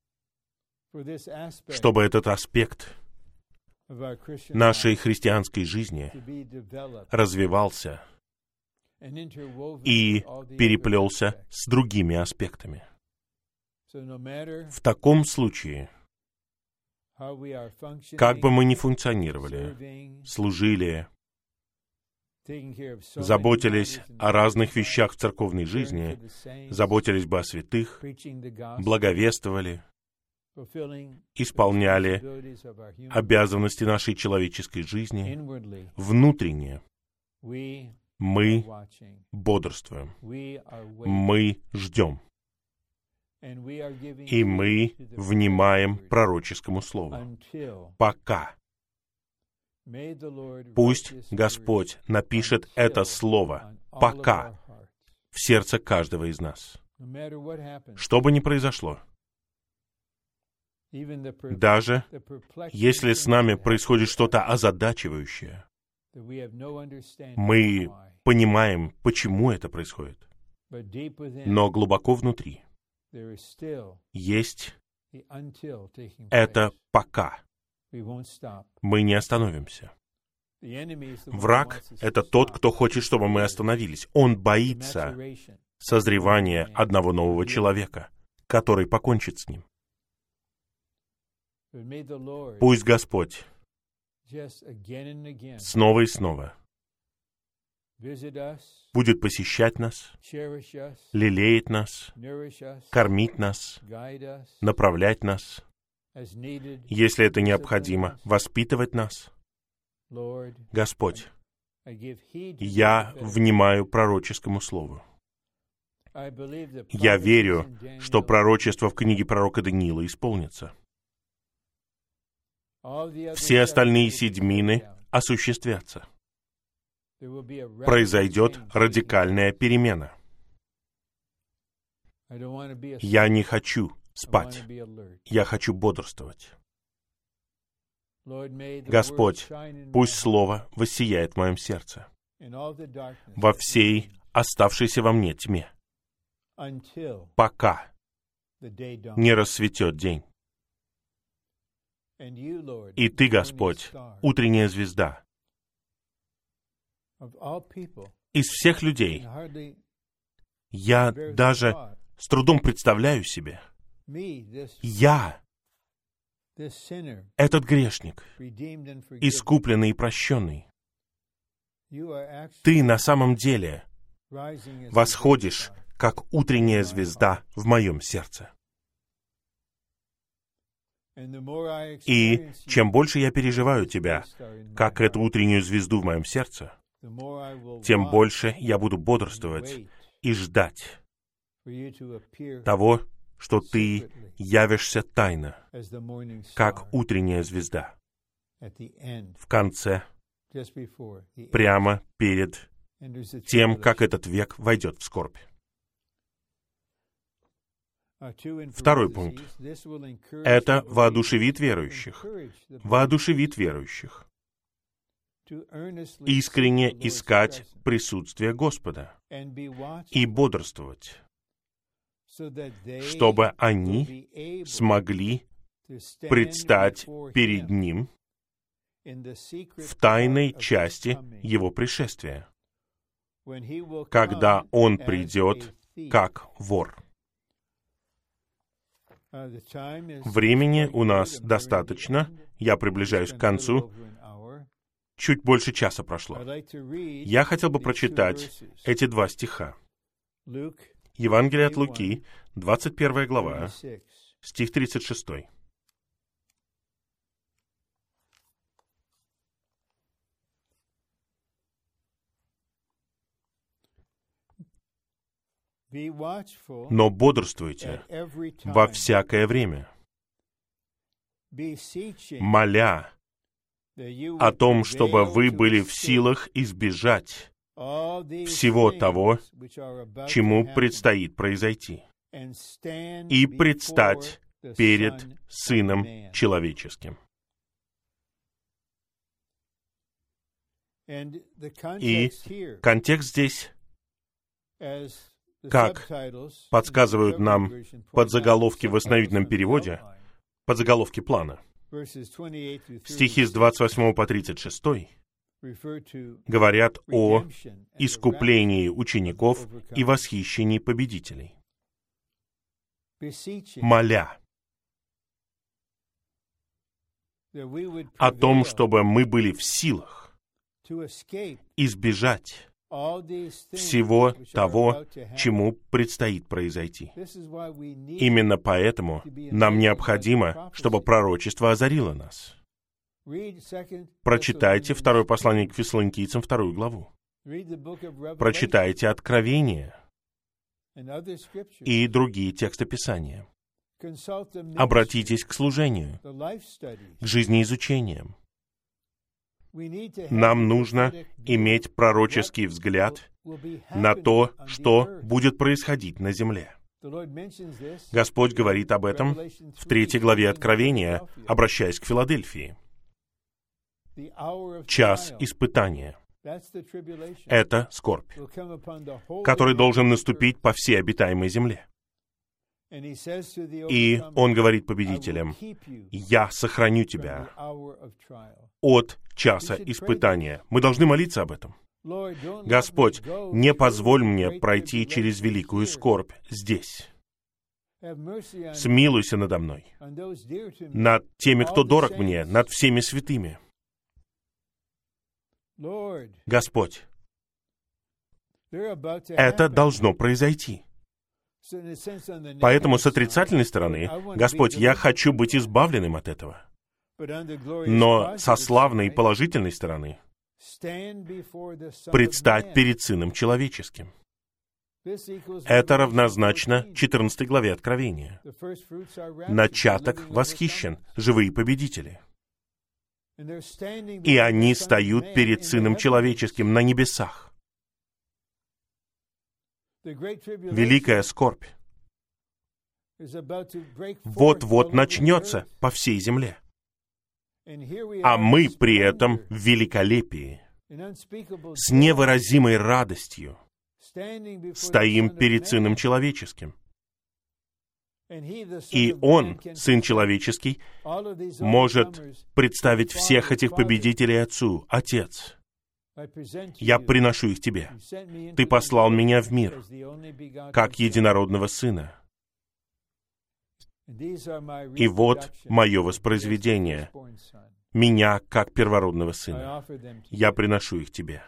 чтобы этот аспект нашей христианской жизни развивался и переплелся с другими аспектами. В таком случае, как бы мы ни функционировали, служили, заботились о разных вещах в церковной жизни, заботились бы о святых, благовествовали, исполняли обязанности нашей человеческой жизни, внутренне мы бодрствуем, мы ждем, и мы внимаем пророческому слову. Пока. Пусть Господь напишет это слово «пока» в сердце каждого из нас. Что бы ни произошло, Даже если с нами происходит что-то озадачивающее, мы понимаем, почему это происходит. Но глубоко внутри есть это «пока». Мы не остановимся. Враг — это тот, кто хочет, чтобы мы остановились. Он боится созревания одного нового человека, который покончит с ним. Пусть Господь снова и снова будет посещать нас, лелеять нас, кормить нас, направлять нас, если это необходимо, воспитывать нас. Господь, я внимаю пророческому слову. Я верю, что пророчество в книге пророка Даниила исполнится. Все остальные седьмины осуществятся. Произойдет радикальная перемена. Я не хочу спать. Я хочу бодрствовать. Господь, пусть Слово воссияет в моем сердце во всей оставшейся во мне тьме, пока не рассветет день. И Ты, Господь, утренняя звезда. Из всех людей я даже с трудом представляю себе, я, этот грешник, искупленный и прощенный, Ты на самом деле восходишь, как утренняя звезда в моем сердце. И чем больше я переживаю Тебя, как эту утреннюю звезду в моем сердце, тем больше я буду бодрствовать и ждать того, что Ты явишься тайно, как утренняя звезда, в конце, прямо перед тем, как этот век войдет в скорбь. Второй пункт. Это воодушевит верующих. Воодушевит верующих. Искренне искать присутствие Господа и бодрствовать, чтобы они смогли предстать перед Ним в тайной части Его пришествия, когда Он придет как вор. Времени у нас достаточно. Я приближаюсь к концу. Чуть больше часа прошло. Я хотел бы прочитать эти два стиха. Евангелие от Луки, двадцать первая глава, стих тридцать шестой. Но бодрствуйте во всякое время, моля о том, чтобы вы были в силах избежать всего того, чему предстоит произойти, и предстать перед Сыном Человеческим. И контекст здесь, как подсказывают нам подзаголовки в восстановительном переводе, подзаголовки плана, стихи с двадцать восьмого по тридцать шестой говорят о искуплении учеников и восхищении победителей. Моля о том, чтобы мы были в силах избежать всего того, чему предстоит произойти. Именно поэтому нам необходимо, чтобы пророчество озарило нас. Прочитайте второе послание к Фессалоникийцам, вторую главу. Прочитайте Откровение и другие тексты Писания. Обратитесь к служению, к жизнеизучениям. Нам нужно иметь пророческий взгляд на то, что будет происходить на земле. Господь говорит об этом в третьей главе Откровения, обращаясь к Филадельфии. Час испытания. Это скорбь, который должен наступить по всей обитаемой земле. И Он говорит победителям: «Я сохраню тебя от часа испытания». Мы должны молиться об этом. Господь, не позволь мне пройти через великую скорбь здесь. Смилуйся надо мной, над теми, кто дорог мне, над всеми святыми. Господь, это должно произойти. Поэтому с отрицательной стороны, Господь, я хочу быть избавленным от этого. Но со славной и положительной стороны, предстать перед Сыном Человеческим. Это равнозначно четырнадцатой главе Откровения. Начаток восхищен, живые победители. И они встают перед Сыном Человеческим на небесах. Великая скорбь вот-вот начнется по всей земле. А мы при этом в великолепии, с невыразимой радостью, стоим перед Сыном Человеческим. И Он, Сын Человеческий, может представить всех этих победителей Отцу: «Отец, я приношу их Тебе. Ты послал меня в мир, как единородного Сына. И вот мое воспроизведение, меня, как первородного Сына. Я приношу их Тебе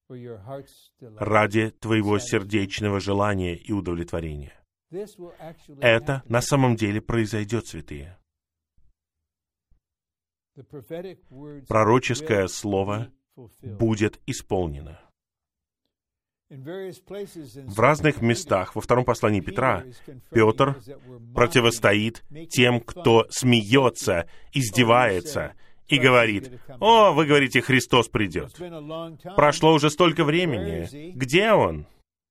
ради Твоего сердечного желания и удовлетворения». Это на самом деле произойдет, святые. Пророческое слово будет исполнено. В разных местах во втором послании Петра Петр противостоит тем, кто смеется, издевается и говорит: «О, вы говорите, Христос придет. Прошло уже столько времени. Где Он?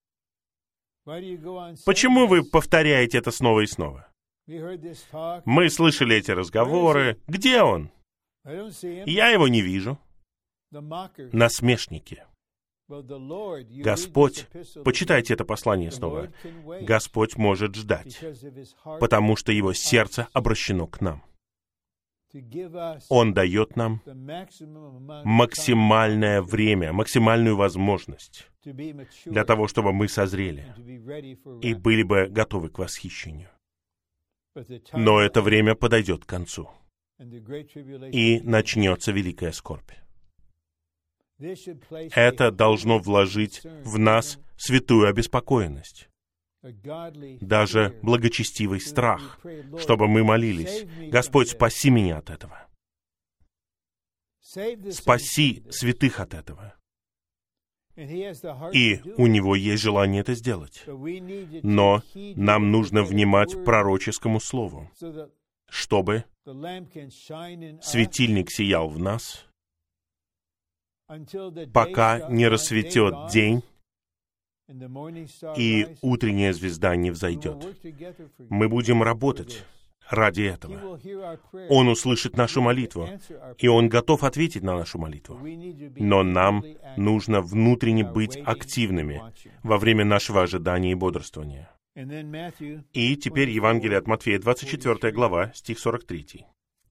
Почему вы повторяете это снова и снова? Мы слышали эти разговоры. Где Он? Я Его не вижу». Насмешники. Господь, почитайте это послание снова. Господь может ждать, потому что Его сердце обращено к нам. Он дает нам максимальное время, максимальную возможность для того, чтобы мы созрели и были бы готовы к восхищению. Но это время подойдет к концу, и начнется великая скорбь. Это должно вложить в нас святую обеспокоенность, даже благочестивый страх, чтобы мы молились: «Господь, спаси меня от этого. Спаси святых от этого». И у Него есть желание это сделать. Но нам нужно внимать пророческому слову, чтобы светильник сиял в нас, пока не рассветет день, и утренняя звезда не взойдет. Мы будем работать ради этого. Он услышит нашу молитву, и Он готов ответить на нашу молитву. Но нам нужно внутренне быть активными во время нашего ожидания и бодрствования. И теперь Евангелие от Матфея, двадцать четвёртая глава, стих сорок третий.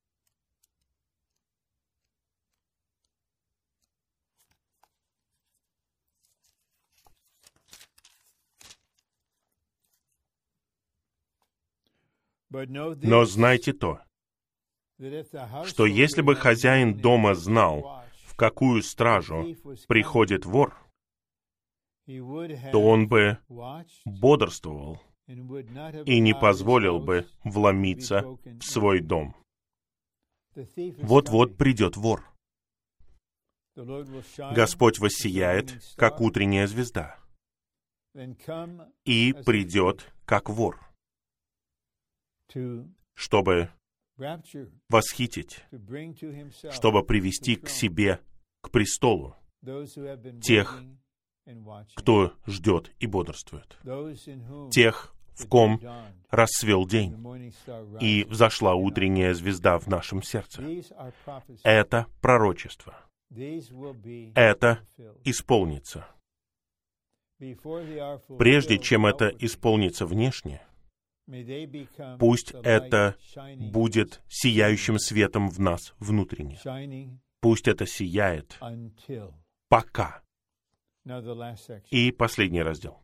Но знайте то, что если бы хозяин дома знал, в какую стражу приходит вор, то он бы бодрствовал и не позволил бы вломиться в свой дом. Вот-вот придет вор. Господь воссияет, как утренняя звезда, и придет, как вор, чтобы восхитить, чтобы привести к себе, к престолу, тех, кто ждет и бодрствует, тех, в ком расцвел день, и взошла утренняя звезда в нашем сердце. Это пророчество. Это исполнится. Прежде чем это исполнится внешне, пусть это будет сияющим светом в нас внутренне. Пусть это сияет пока. И последний раздел.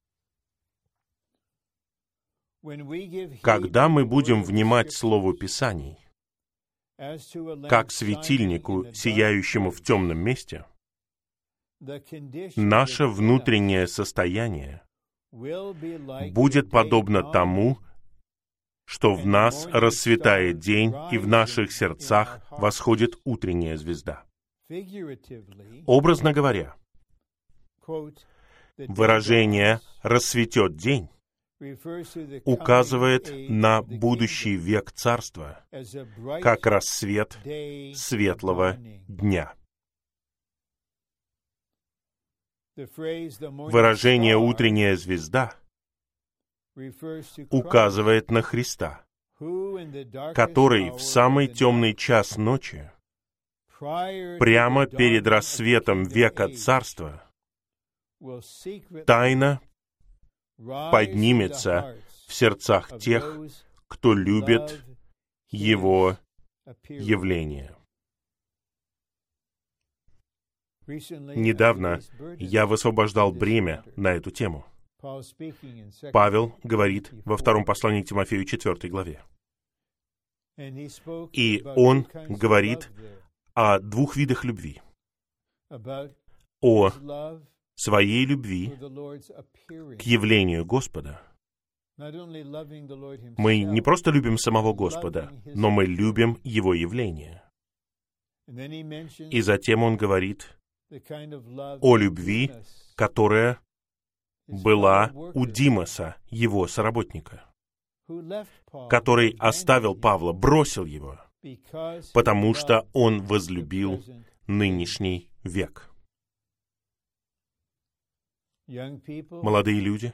Когда мы будем внимать Слову Писаний, как светильнику, сияющему в темном месте, наше внутреннее состояние будет подобно тому, что в нас расцветает день, и в наших сердцах восходит утренняя звезда. Образно говоря, выражение «расцветет день» указывает на будущий век Царства, как рассвет светлого дня. Выражение «утренняя звезда» указывает на Христа, который в самый темный час ночи, прямо перед рассветом века Царства, тайно поднимется в сердцах тех, кто любит Его явление. Недавно я высвобождал бремя на эту тему. Павел говорит во втором послании к Тимофею четвёртой главе. И он говорит о двух видах любви. О своей любви к явлению Господа. Мы не просто любим самого Господа, но мы любим Его явление. И затем он говорит о любви, которая была у Димаса, его соработника, который оставил Павла, бросил его, потому что он возлюбил нынешний век. Молодые люди,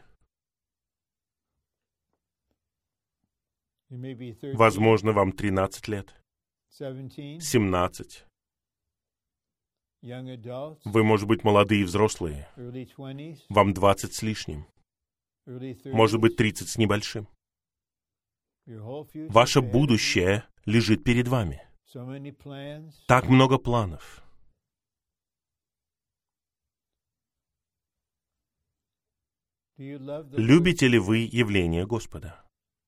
возможно, вам тринадцать лет, семнадцать. Вы, может быть, молодые и взрослые. Вам двадцать с лишним. Может быть, тридцать с небольшим. Ваше будущее лежит перед вами. Так много планов. Любите ли вы явление Господа?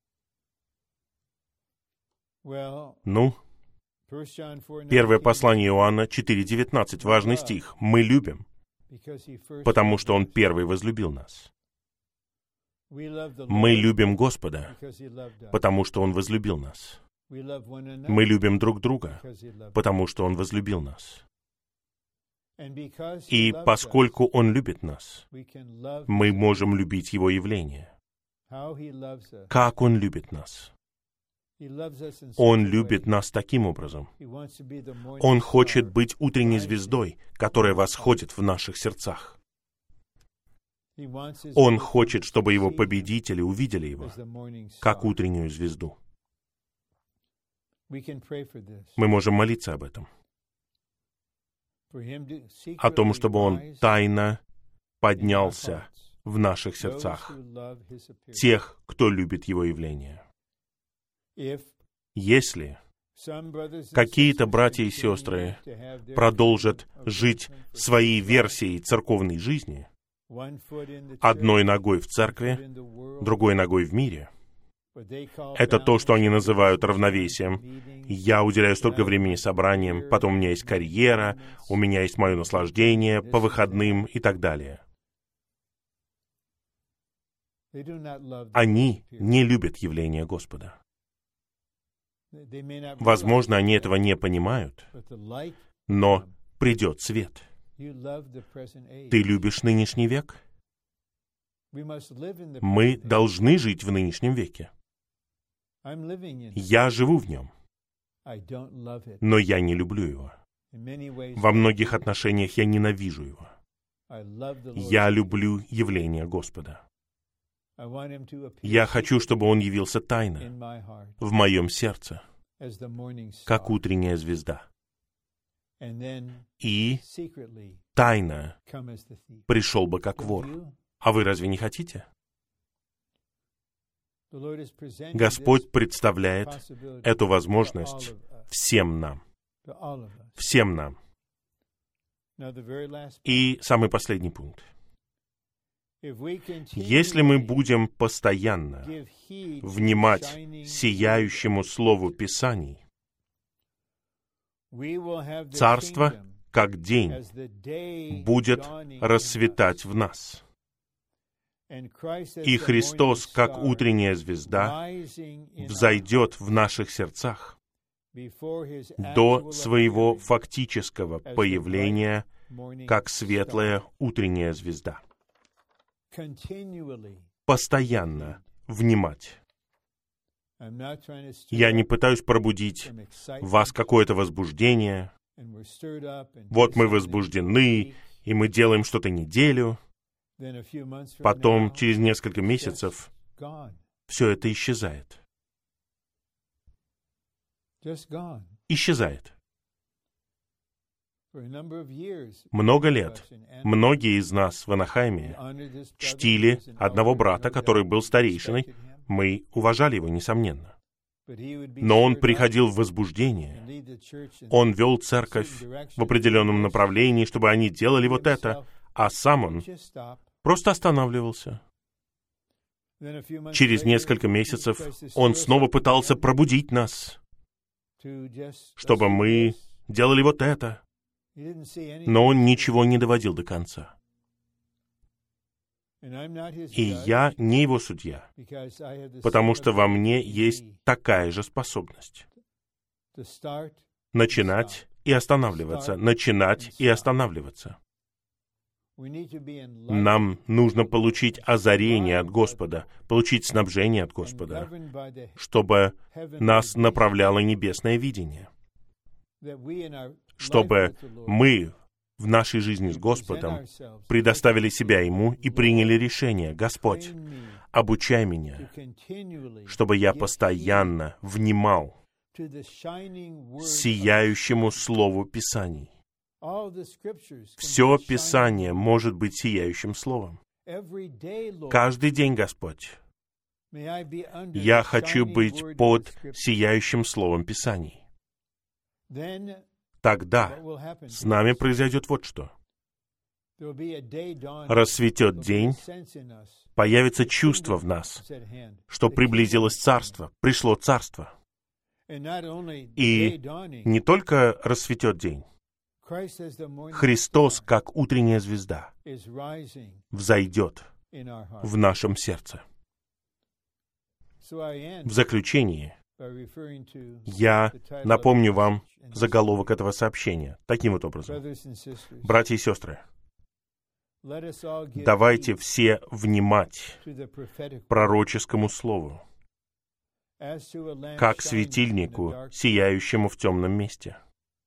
Ну, первое послание Иоанна четыре девятнадцать, важный стих. Мы любим, потому что Он первый возлюбил нас. Мы любим Господа, потому что Он возлюбил нас. Мы любим друг друга, потому что Он возлюбил нас. И поскольку Он любит нас, мы можем любить Его явление. Как Он любит нас? Он любит нас таким образом. Он хочет быть утренней звездой, которая восходит в наших сердцах. Он хочет, чтобы Его победители увидели Его, как утреннюю звезду. Мы можем молиться об этом. О том, чтобы Он тайно поднялся в наших сердцах, тех, кто любит Его явление. Если какие-то братья и сестры продолжат жить своей версией церковной жизни, одной ногой в церкви, другой ногой в мире, это то, что они называют равновесием. Я уделяю столько времени собраниям, потом у меня есть карьера, у меня есть мое наслаждение по выходным и так далее. Они не любят явление Господа. Возможно, они этого не понимают, но придет свет. Ты любишь нынешний век? Мы должны жить в нынешнем веке. Я живу в нем, но я не люблю его. Во многих отношениях я ненавижу его. Я люблю явление Господа. Я хочу, чтобы Он явился тайно в моем сердце, как утренняя звезда. И тайно пришел бы как вор. А вы разве не хотите? Господь представляет эту возможность всем нам. Всем нам. И самый последний пункт. Если мы будем постоянно внимать сияющему Слову Писаний, Царство, как день, будет расцветать в нас. И Христос, как утренняя звезда, взойдет в наших сердцах до своего фактического появления, как светлая утренняя звезда. Постоянно внимать. Я не пытаюсь пробудить в вас какое-то возбуждение. Вот мы возбуждены, и мы делаем что-то неделю. Потом, через несколько месяцев, все это исчезает. Исчезает. Много лет многие из нас в Анахайме чтили одного брата, который был старейшиной. Мы уважали его, несомненно. Но он приходил в возбуждение. Он вел церковь в определенном направлении, чтобы они делали вот это, а сам он просто останавливался. Через несколько месяцев он снова пытался пробудить нас, чтобы мы делали вот это. Но он ничего не доводил до конца. И я не его судья, потому что во мне есть такая же способность. Начинать и останавливаться, начинать и останавливаться. Нам нужно получить озарение от Господа, получить снабжение от Господа, чтобы нас направляло небесное видение, чтобы мы в нашей жизни с Господом предоставили себя Ему и приняли решение: Господь, обучай меня, чтобы я постоянно внимал сияющему Слову Писаний. Все Писание может быть сияющим Словом. Каждый день, Господь, я хочу быть под сияющим Словом Писаний. Тогда с нами произойдет вот что. Рассветет день, появится чувство в нас, что приблизилось Царство, пришло Царство. И не только рассветет день, Христос, как утренняя звезда, взойдет в нашем сердце. В заключение я напомню вам заголовок этого сообщения таким вот образом. Братья и сестры, давайте все внимать пророческому слову, как светильнику, сияющему в темном месте.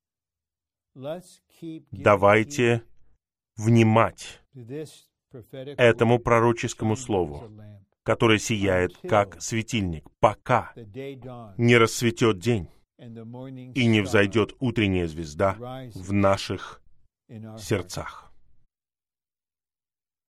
Давайте внимать этому пророческому слову, которое сияет как светильник, пока не расцветет день и не взойдет утренняя звезда в наших сердцах.